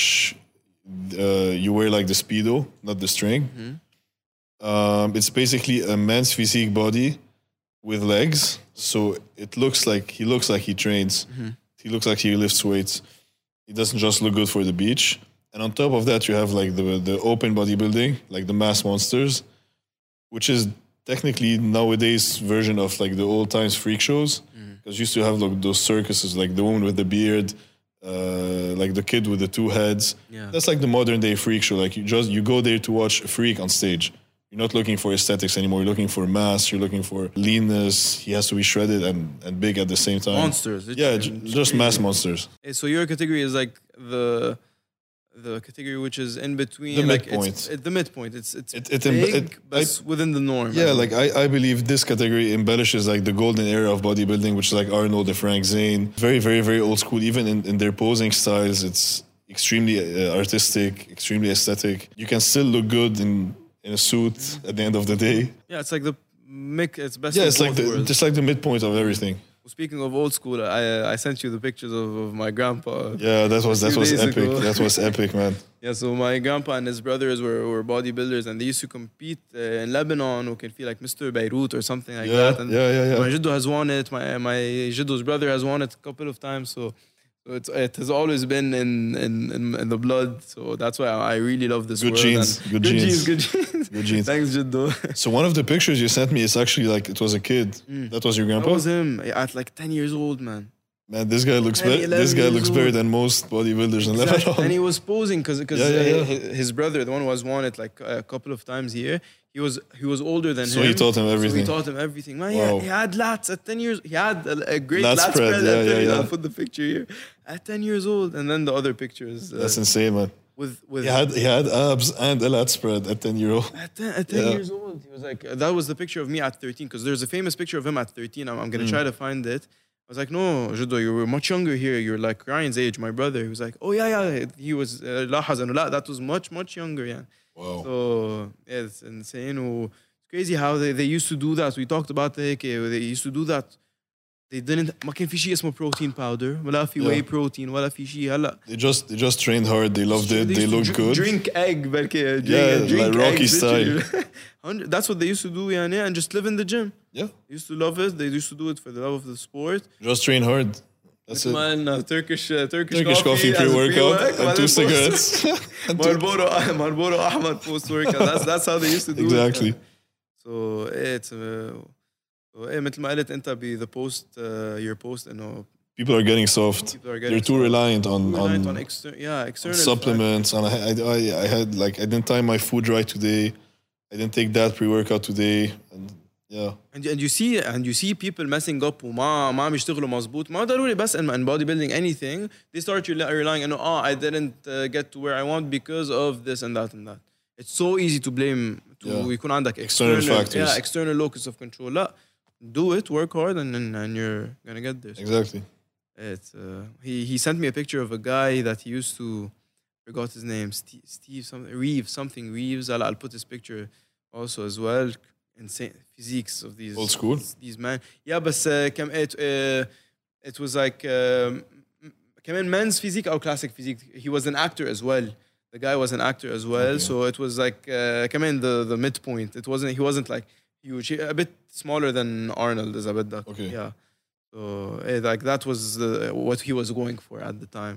you wear like the Speedo, not the string. It's basically a men's physique body with legs. So he looks like he trains. He looks like he lifts weights. He doesn't just look good for the beach. And on top of that, you have like the open bodybuilding, like the mass monsters, which is technically nowadays version of like the old times freak shows. Because used to have like those circuses, like the woman with the beard, like the kid with the 2 heads. Yeah. That's like the modern day freak show. Like you go there to watch a freak on stage. You're not looking for aesthetics anymore. You're looking for mass. You're looking for leanness. He has to be shredded and big at the same time. Monsters. Yeah, just mass monsters. So your category is like the category which is in between. The like midpoint. It's the midpoint. It's It- big, but it's within the norm. Yeah, like I believe this category embellishes like the golden era of bodybuilding, which is like Arnold and Frank Zane. Very, very, very old school. Even in their posing styles, it's extremely artistic, extremely aesthetic. You can still look good in a suit at the end of the day. Yeah, it's like the it's best. Yeah, of it's like both worlds. just like the midpoint of everything. Speaking of old school, I sent you the pictures of my grandpa. Yeah, that was days epic. ago. That was epic, man. Yeah, so my grandpa and his brothers were bodybuilders and they used to compete in Lebanon who can feel like Mr. Beirut or something like Yeah, that. And yeah. my Jiddo has won it. My Jiddo's brother has won it a couple of times. So it has always been in the blood. So that's why I really love this Good world. genes, And good genes. Good genes. Good genes. Thanks, Jiddo. So one of the pictures you sent me is actually like it was a kid. That was your That grandpa? was him at like 10 years old, man. Man, this guy looks 10, 11 years better old. than most bodybuilders in Exactly. Lebanon. And he was posing because Yeah. his brother, the one who has won it like a couple of times here, he was older than him. So he taught him So everything. he taught him everything. Man, Wow. he had lats at 10 years. He had a great Lat lat spread, spread. yeah, at 10 yeah. I'll put the picture here. At 10 years old. And then the other pictures. That's insane, man. with He had abs and a lat spread at 10-year-old. at 10 Yeah. years old. He was like, that was the picture of me at 13 because there's a famous picture of him at 13. I'm going to try to find it. was like, no, Jiddo, you were much younger here. You're like Ryan's age, my brother. He was like, oh, yeah. He was, لاحظ إنه لا, that was much, much younger, yeah. Wow. So, yeah, it's insane. It's crazy how they used to do that. We talked about the they used to do that. They didn't, ما كان في شيء اسمه protein powder, ولا في whey protein, ولا في شيء هلا. They just trained hard. They loved it. They looked good. Drink egg, بركي. Like Rocky style. That's what they used to do, يعني, and just live in the gym. Yeah. They used to love it. They used to do it for the love of the sport. Just train hard. That's it. Man, Turkish coffee pre-workout and 2 cigarettes. Marlboro Ahmad post-workout. That's how they used to do it. Exactly. So it's مثل ما قلت انت the post your post انه people are getting soft. They're too reliant on external supplements. And I had like I didn't time my food right today. I didn't take that pre-workout today. And yeah. And you see people messing up وما عم يشتغلوا مزبوط. ما ضروري بس in bodybuilding anything. They start relying on I didn't get to where I want because of this and that and that. It's so easy to blame يكون عندك external factors. Yeah, external locus of control. لا. Do it, work hard, and you're gonna get there. Exactly. It's he sent me a picture of a guy that he used to, forgot his name, Steve something Reeves. I'll put his picture also as well. Insane physiques of these old school. These men. Yeah, but it was like كمان men's physique or classic physique. He was an actor as well. The guy was an actor as well, so it was like كمان the midpoint. He wasn't like huge, a bit smaller than Arnold is a bit that. Okay. Yeah. So like that was what he was going for at the time.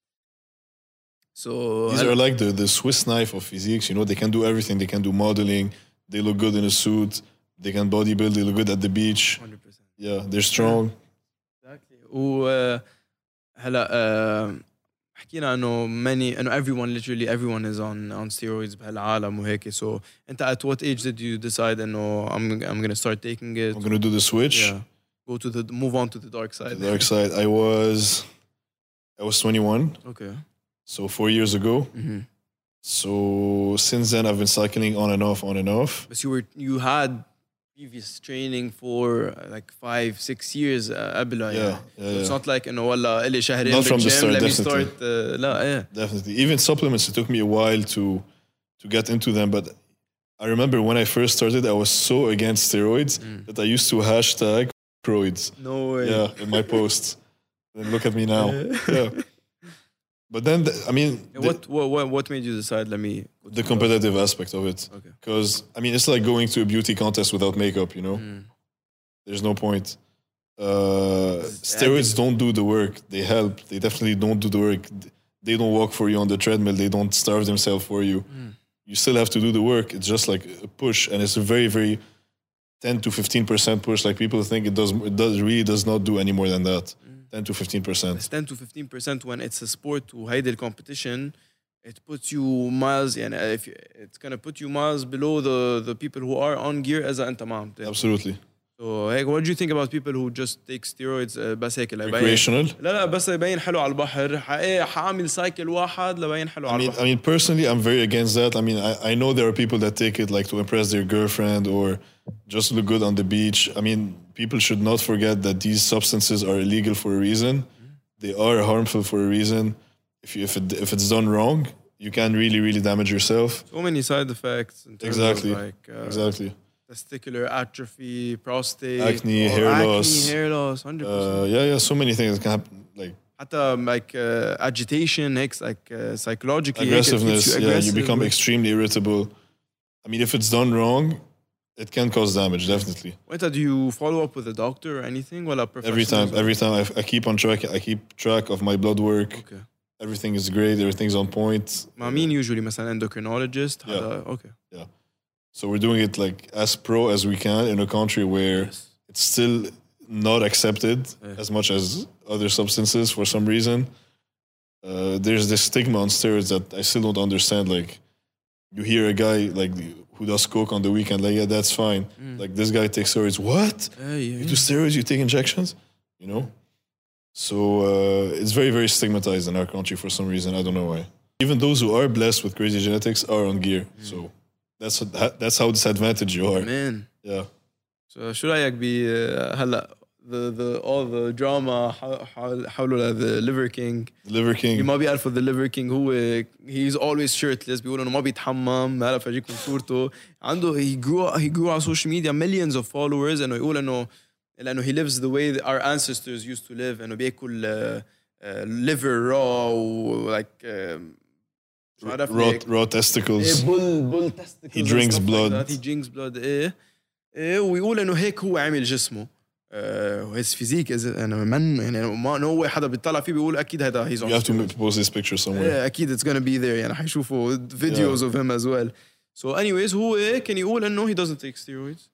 So these are like the Swiss knife of physiques. You know, they can do everything. They can do modeling. They look good in a suit. They can bodybuild. They look good at the beach. 100%. Yeah, they're strong. Exactly. هلا حكينا انه everyone is on steroids بهالعالم وهيك. So انت at what age did you decide انه I'm gonna start taking it? I'm gonna do the switch. Yeah. Move on to the dark side. The dark side. I was 21. Okay. So 4 years ago. Mm-hmm. So since then I've been cycling on and off. But you had previous training for like 5-6 years قبلها. Yeah. It's not like انه والله إلي شهرين Not from the بالgym, start, let me definitely. start لا Definitely. Even supplements, it took me a while to get into them. But I remember when I first started, I was so against steroids that I used to hashtag steroids. No way. Yeah, in my posts. And look at me now. Yeah. But then, What made you decide? The competitive aspect of it. Okay. Because it's like going to a beauty contest without makeup. You know, there's no point. Steroids don't do the work. They help. They definitely don't do the work. They don't walk for you on the treadmill. They don't starve themselves for you. You still have to do the work. It's just like a push, and it's a very, very 10 to 15% push. Like people think it really does not do any more than that. 10 to 15%. It's 10 to 15% when it's a sport وهيدي الcompetition. It puts you miles, and it's gonna put you miles below the people who are on gear as أنت ما عم تعمل. Absolutely. So what do you think about people who just take steroids بس هيك Recreational? لا بس يبين حلو على البحر. حاعمل سايكل واحد لبين حلو على البحر. I mean, personally, I'm very against that. I know there are people that take it like to impress their girlfriend or just look good on the beach. People should not forget that these substances are illegal for a reason. They are harmful for a reason. If it's done wrong, you can really, really damage yourself. So many side effects. In terms Exactly. Of like, Exactly. Testicular atrophy, prostate, acne, hair loss. 100%. Yeah. So many things that can happen. Like حتى like agitation, like psychologically. Aggressiveness. You become like, extremely irritable. If it's done wrong, it can cause damage, definitely. Wait, do you follow up with a doctor or anything? Well, Every time I keep on track. I keep track of my blood work. Okay. Everything is great. Everything's on point. I mean, usually, مثلا endocrinologist. Yeah. Okay. Yeah. So we're doing it like as pro as we can in a country where it's still not accepted as much as other substances for some reason. There's this stigma on steroids that I still don't understand. Like, you hear a guy like who does coke on the weekend, like, yeah, that's fine. Like, this guy takes steroids. What? You do steroids? You take injections? You know? So it's very, very stigmatized in our country for some reason. I don't know why. Even those who are blessed with crazy genetics are on gear. So that's how disadvantaged you are. Man. Yeah. So شو رأيك هلا the all the drama حوله the Liver King. Liver اللي King. ما بيعرفوا the Liver King هو he's always shirtless. بيقولوا انه ما بيتحمم. هلا فرجيكم صورته. عنده he grew على social media millions of followers. انه يقول انه لانه he lives the way our ancestors used to live. انه بياكل liver raw و like شو عرفني هيك. Raw testicles. bull testicles. He drinks blood. He drinks blood. ايه ويقول انه هيك هو عامل جسمه. his physique is انا من يعني ما هو حدا بيطلع فيه بيقول اكيد هذا he's on. You have to post this picture somewhere. اكيد it's gonna be there يعني حيشوفوا videos of him as well. So anyways هو كان يقول انه he doesn't take steroids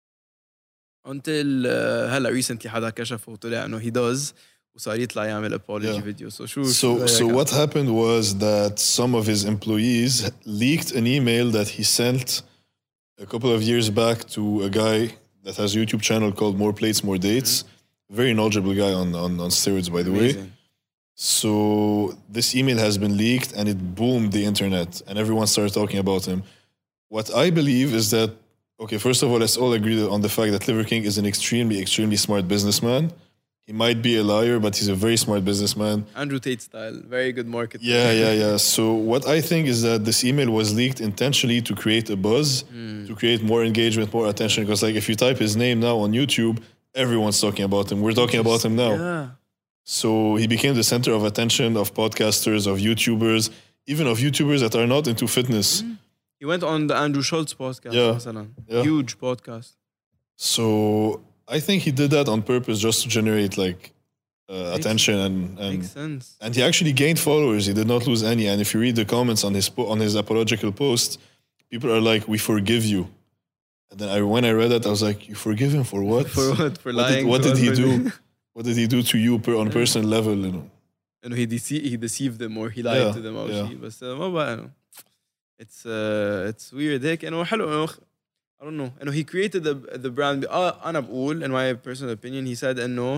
until هلا recently حدا كشفه وطلع انه he does وصار يطلع يعمل apology video. So what happened was that some of his employees leaked an email that he sent a couple of years back to a guy that has a YouTube channel called More Plates, More Dates. Very knowledgeable guy on steroids, by the way. So this email has been leaked and it boomed the internet and everyone started talking about him. What I believe is that, okay, first of all, let's all agree on the fact that Liver King is an extremely smart businessman. He might be a liar, but he's a very smart businessman. Andrew Tate style, very good marketing. Yeah. So what I think is that this email was leaked intentionally to create a buzz, to create more engagement, more attention. Because like if you type his name now on YouTube, everyone's talking about him. We're talking about him now. Yeah. So he became the center of attention of podcasters, of YouTubers, even of YouTubers that are not into fitness. He went on the Andrew Schultz podcast. Yeah. Huge podcast. So I think he did that on purpose just to generate like attention and Makes sense. and he actually gained followers. He did not lose any. And if you read the comments on his apological post, people are like, "We forgive you." And then when I read that, I was like, "You forgive him for what? For what? For lying? What did he do? What did he do to you on a personal level? You know?" And he deceived them or he lied to them. But ما بقى it's weird. هيك إنه حلو. I don't know. And he created the brand. أنا بقول, in my personal opinion, he said إنه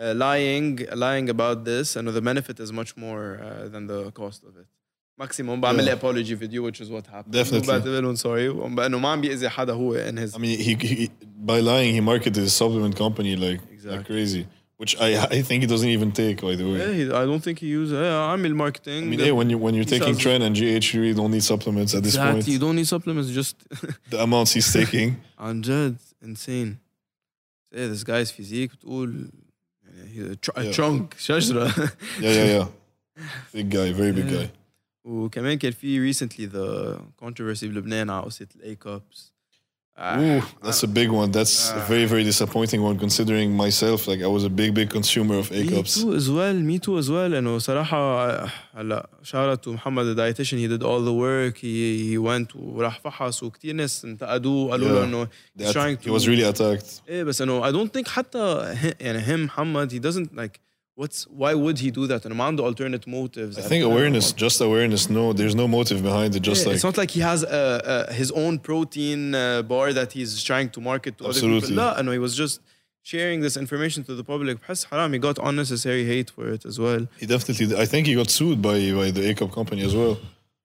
lying about this and the benefit is much more than the cost of it. Maximum بعمل لي apology video, which is what happened. Definitely. بعتذر لهم sorry. إنه ما عم بيأذي حدا هو in his. I mean, he by lying he marketed his supplement company like crazy, which I think he doesn't even take, by the way. I don't think he uses. عامل marketing. I mean, when you're taking Tren and GH, you really don't need supplements at this point. You don't need supplements. Just the amounts he's taking. عن جد insane. This guy's physique بتقول he's a trunk شجرة. Yeah. Big guy, very big guy. وكمان كان في recently the controversy بلبنان على قصة ال A-cups. Ooh, that's a big one. That's a very, very disappointing one, considering myself, like I was a big consumer of A-cups. Me too as well. إنه صراحة هلا shout out to محمد the dietitian. He did all the work. He went وراح فحص وكتير ناس انتقدوه قالوا له إنه he's trying to. He was really attacked. بس إنه I don't think حتى يعني him محمد he doesn't like. Why would he do that? And Amanda alternate motives. I think just awareness. No, there's no motive behind it. Just like it's not like he has his own protein bar that he's trying to market to other people. لا, no, he was just sharing this information to the public. بحس حرام, he got unnecessary hate for it as well. He definitely. I think he got sued by the A-cup company as well.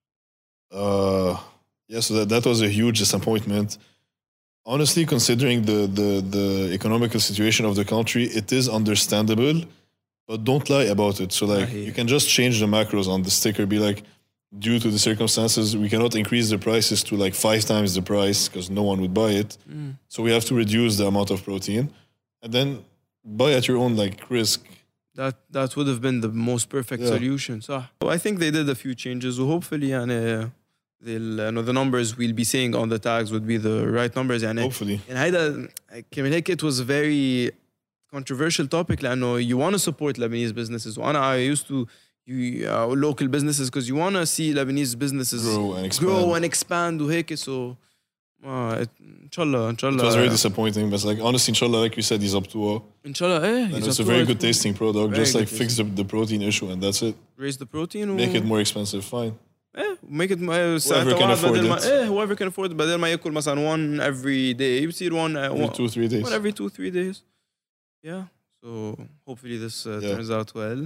So that was a huge disappointment. Honestly, considering the economical situation of the country, it is understandable. But don't lie about it. So like you can just change the macros on the sticker. Be like, due to the circumstances, we cannot increase the prices to like 5 times the price because no one would buy it. So we have to reduce the amount of protein and then buy at your own like risk. That would have been the most perfect solution. So I think they did a few changes. So hopefully the numbers we'll be seeing on the tags would be the right numbers. Hopefully. And هيدا كمان هيك it was very controversial topic لأنه you want to support Lebanese businesses. I used to local businesses because you want to see Lebanese businesses grow and expand وهيك. So إن شاء الله. It was very disappointing, but like honestly, inshallah, like you said, he's up to all. Inshallah, and it's a very good tasting product. Just like fix the protein issue and that's it. Raise the protein. Make it more expensive, fine. Make it whoever can afford it. Whoever can afford it. بدل ما يأكل مثلا one every day بصير one every 2-3 days. One every 2-3 days. Yeah, so hopefully this turns out well.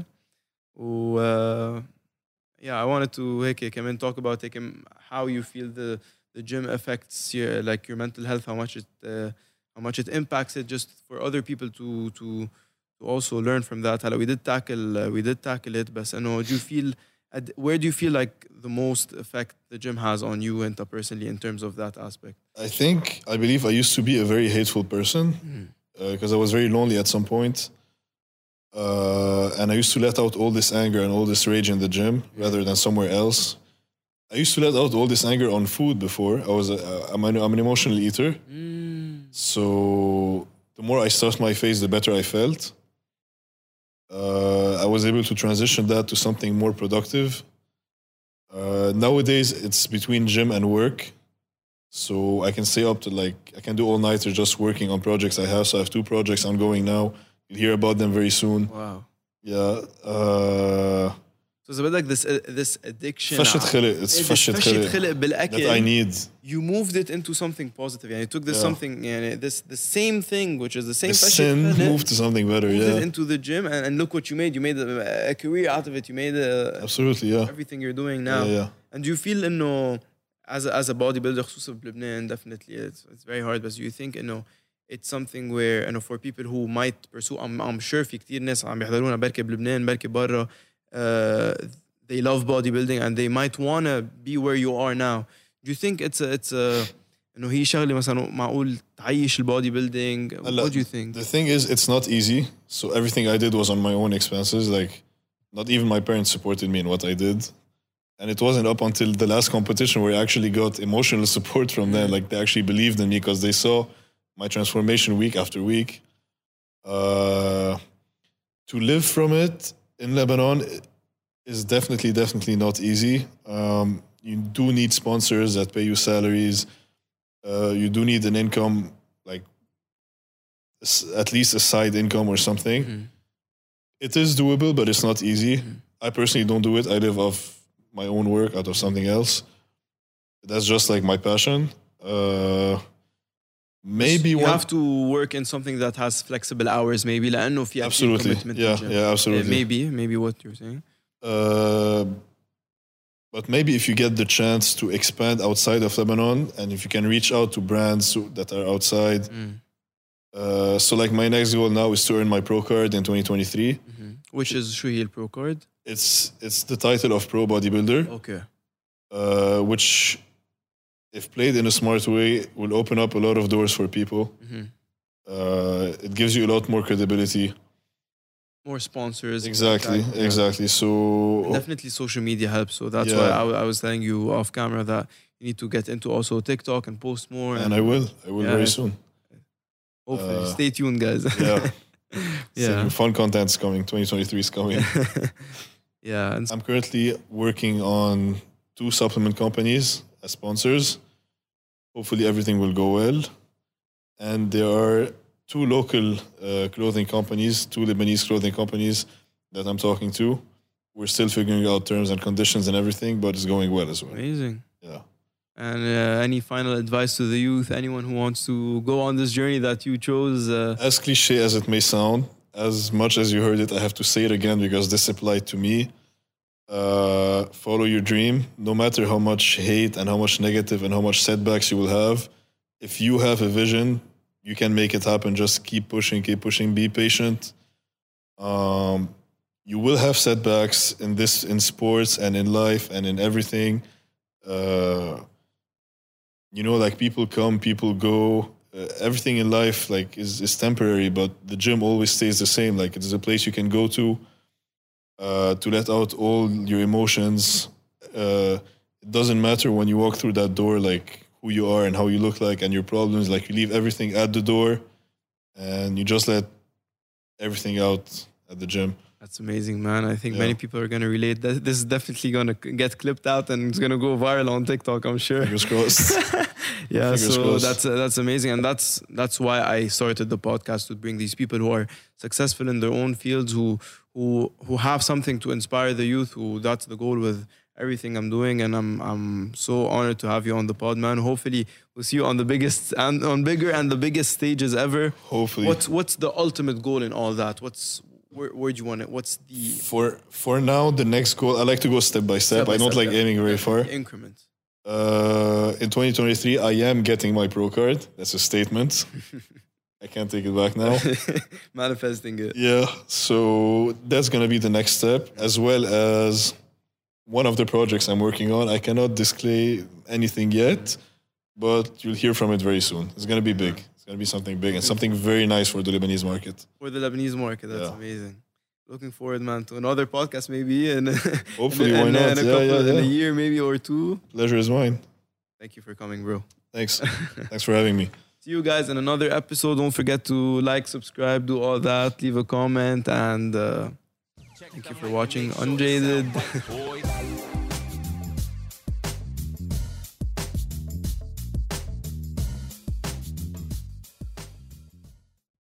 I wanted to come and talk about how you feel the gym affects your mental health, how how much it impacts it, just for other people to also learn from that. هلا we did tackle it, but I know, do you feel where do you feel like the most effect the gym has on you and personally in terms of that aspect? I believe I used to be a very hateful person because I was very lonely at some point. And I used to let out all this anger and all this rage in the gym rather than somewhere else. I used to let out all this anger on food before. I'm an emotional eater. So the more I stuffed my face, the better I felt. I was able to transition that to something more productive. Nowadays, it's between gym and work. So I can stay up to I can do all-nighter just working on projects I have. So I have 2 projects ongoing now. You'll hear about them very soon. Wow. Yeah. So it's a bit like this addiction. فشة خلق. It's فشة خلق بالأكل. that I need. You moved it into something positive. You took this something, the same thing, which is the same The فشة sin خلق, moved to something better. moved Yeah. it into the gym, and look what you made. You made a career out of it. You made Absolutely. Yeah. everything you're doing now. Yeah. And do you feel إنه as a bodybuilder خصوصا بلبنان, definitely it's very hard, but do you think it's something where for people who might pursue, I'm sure في كتير ناس عم يحضرونا بركي بلبنان بركي برا, they love bodybuilding and they might want to be where you are now. Do you think it's انه هي شغله مثلا معقول تعيش البودي building? What do you think? The thing is, it's not easy. So everything I did was on my own expenses. Like, not even my parents supported me in what I did. And it wasn't up until the last competition where I actually got emotional support from them. Like, they actually believed in me because they saw my transformation week after week. To live from it in Lebanon is definitely not easy. You do need sponsors that pay you salaries. You do need an income, like at least a side income or something. It is doable, but it's not easy. I personally don't do it. I live off my own work out of something else. That's just like my passion. Maybe you have to work in something that has flexible hours, maybe لأنه في absolutely, yeah, absolutely. Maybe what you're saying. But maybe if you get the chance to expand outside of Lebanon, and if you can reach out to brands that are outside. So like my next goal now is to earn my pro card in 2023. Which is شو هي البرو card? It's the title of pro bodybuilder. Okay. Which, if played in a smart way, will open up a lot of doors for people. It gives you a lot more credibility. More sponsors. Exactly. So definitely social media helps. So that's why I was telling you off camera that you need to get into also TikTok and post more. And I will very soon. Hopefully. Stay tuned, guys. Some fun content's coming. 2023 is coming. And I'm currently working on 2 supplement companies as sponsors. Hopefully everything will go well. And there are 2 local clothing companies, 2 Lebanese clothing companies that I'm talking to. We're still figuring out terms and conditions and everything, but it's going well as well. Amazing. Yeah. And any final advice to the youth, anyone who wants to go on this journey that you chose? As cliche as it may sound, as much as you heard it, I have to say it again because this applied to me. Follow your dream, no matter how much hate and how much negative and how much setbacks you will have. If you have a vision, you can make it happen. Just keep pushing, be patient. You will have setbacks in sports and in life and in everything. Like people come, people go. Everything in life is temporary, but the gym always stays the same. Like, it's a place you can go to let out all your emotions. It doesn't matter when you walk through that door, like who you are and how you look like and your problems. Like, you leave everything at the door and you just let everything out at the gym. That's amazing, man. I think many people are going to relate. This is definitely going to get clipped out and it's going to go viral on TikTok, I'm sure. Fingers crossed. Fingers crossed. That's amazing. And that's why I started the podcast, to bring these people who are successful in their own fields, who have something to inspire the youth, that's the goal with everything I'm doing. And I'm so honored to have you on the pod, man. Hopefully we'll see you on the biggest and on bigger and the biggest stages ever. Hopefully. What's the ultimate goal in all that? Where do you want it? What's the... For now, the next goal, I like to go step by step. I don't like aiming very far. Increments. In 2023, I am getting my pro card. That's a statement. I can't take it back now. Manifesting it. Yeah, so that's gonna be the next step, as well as one of the projects I'm working on. I cannot display anything yet, but you'll hear from it very soon. It's gonna be big. It's gonna be something big and something very nice for the Lebanese market. For the Lebanese market, that's Yeah. amazing. Looking forward, man, to another podcast maybe in Hopefully, why not? in a Yeah. year maybe or two. Pleasure is mine. Thank you for coming, bro. Thanks. Thanks for having me. See you guys in another episode. Don't forget to like, subscribe, do all that, leave a comment, and thank you for watching Unjaded. Boys.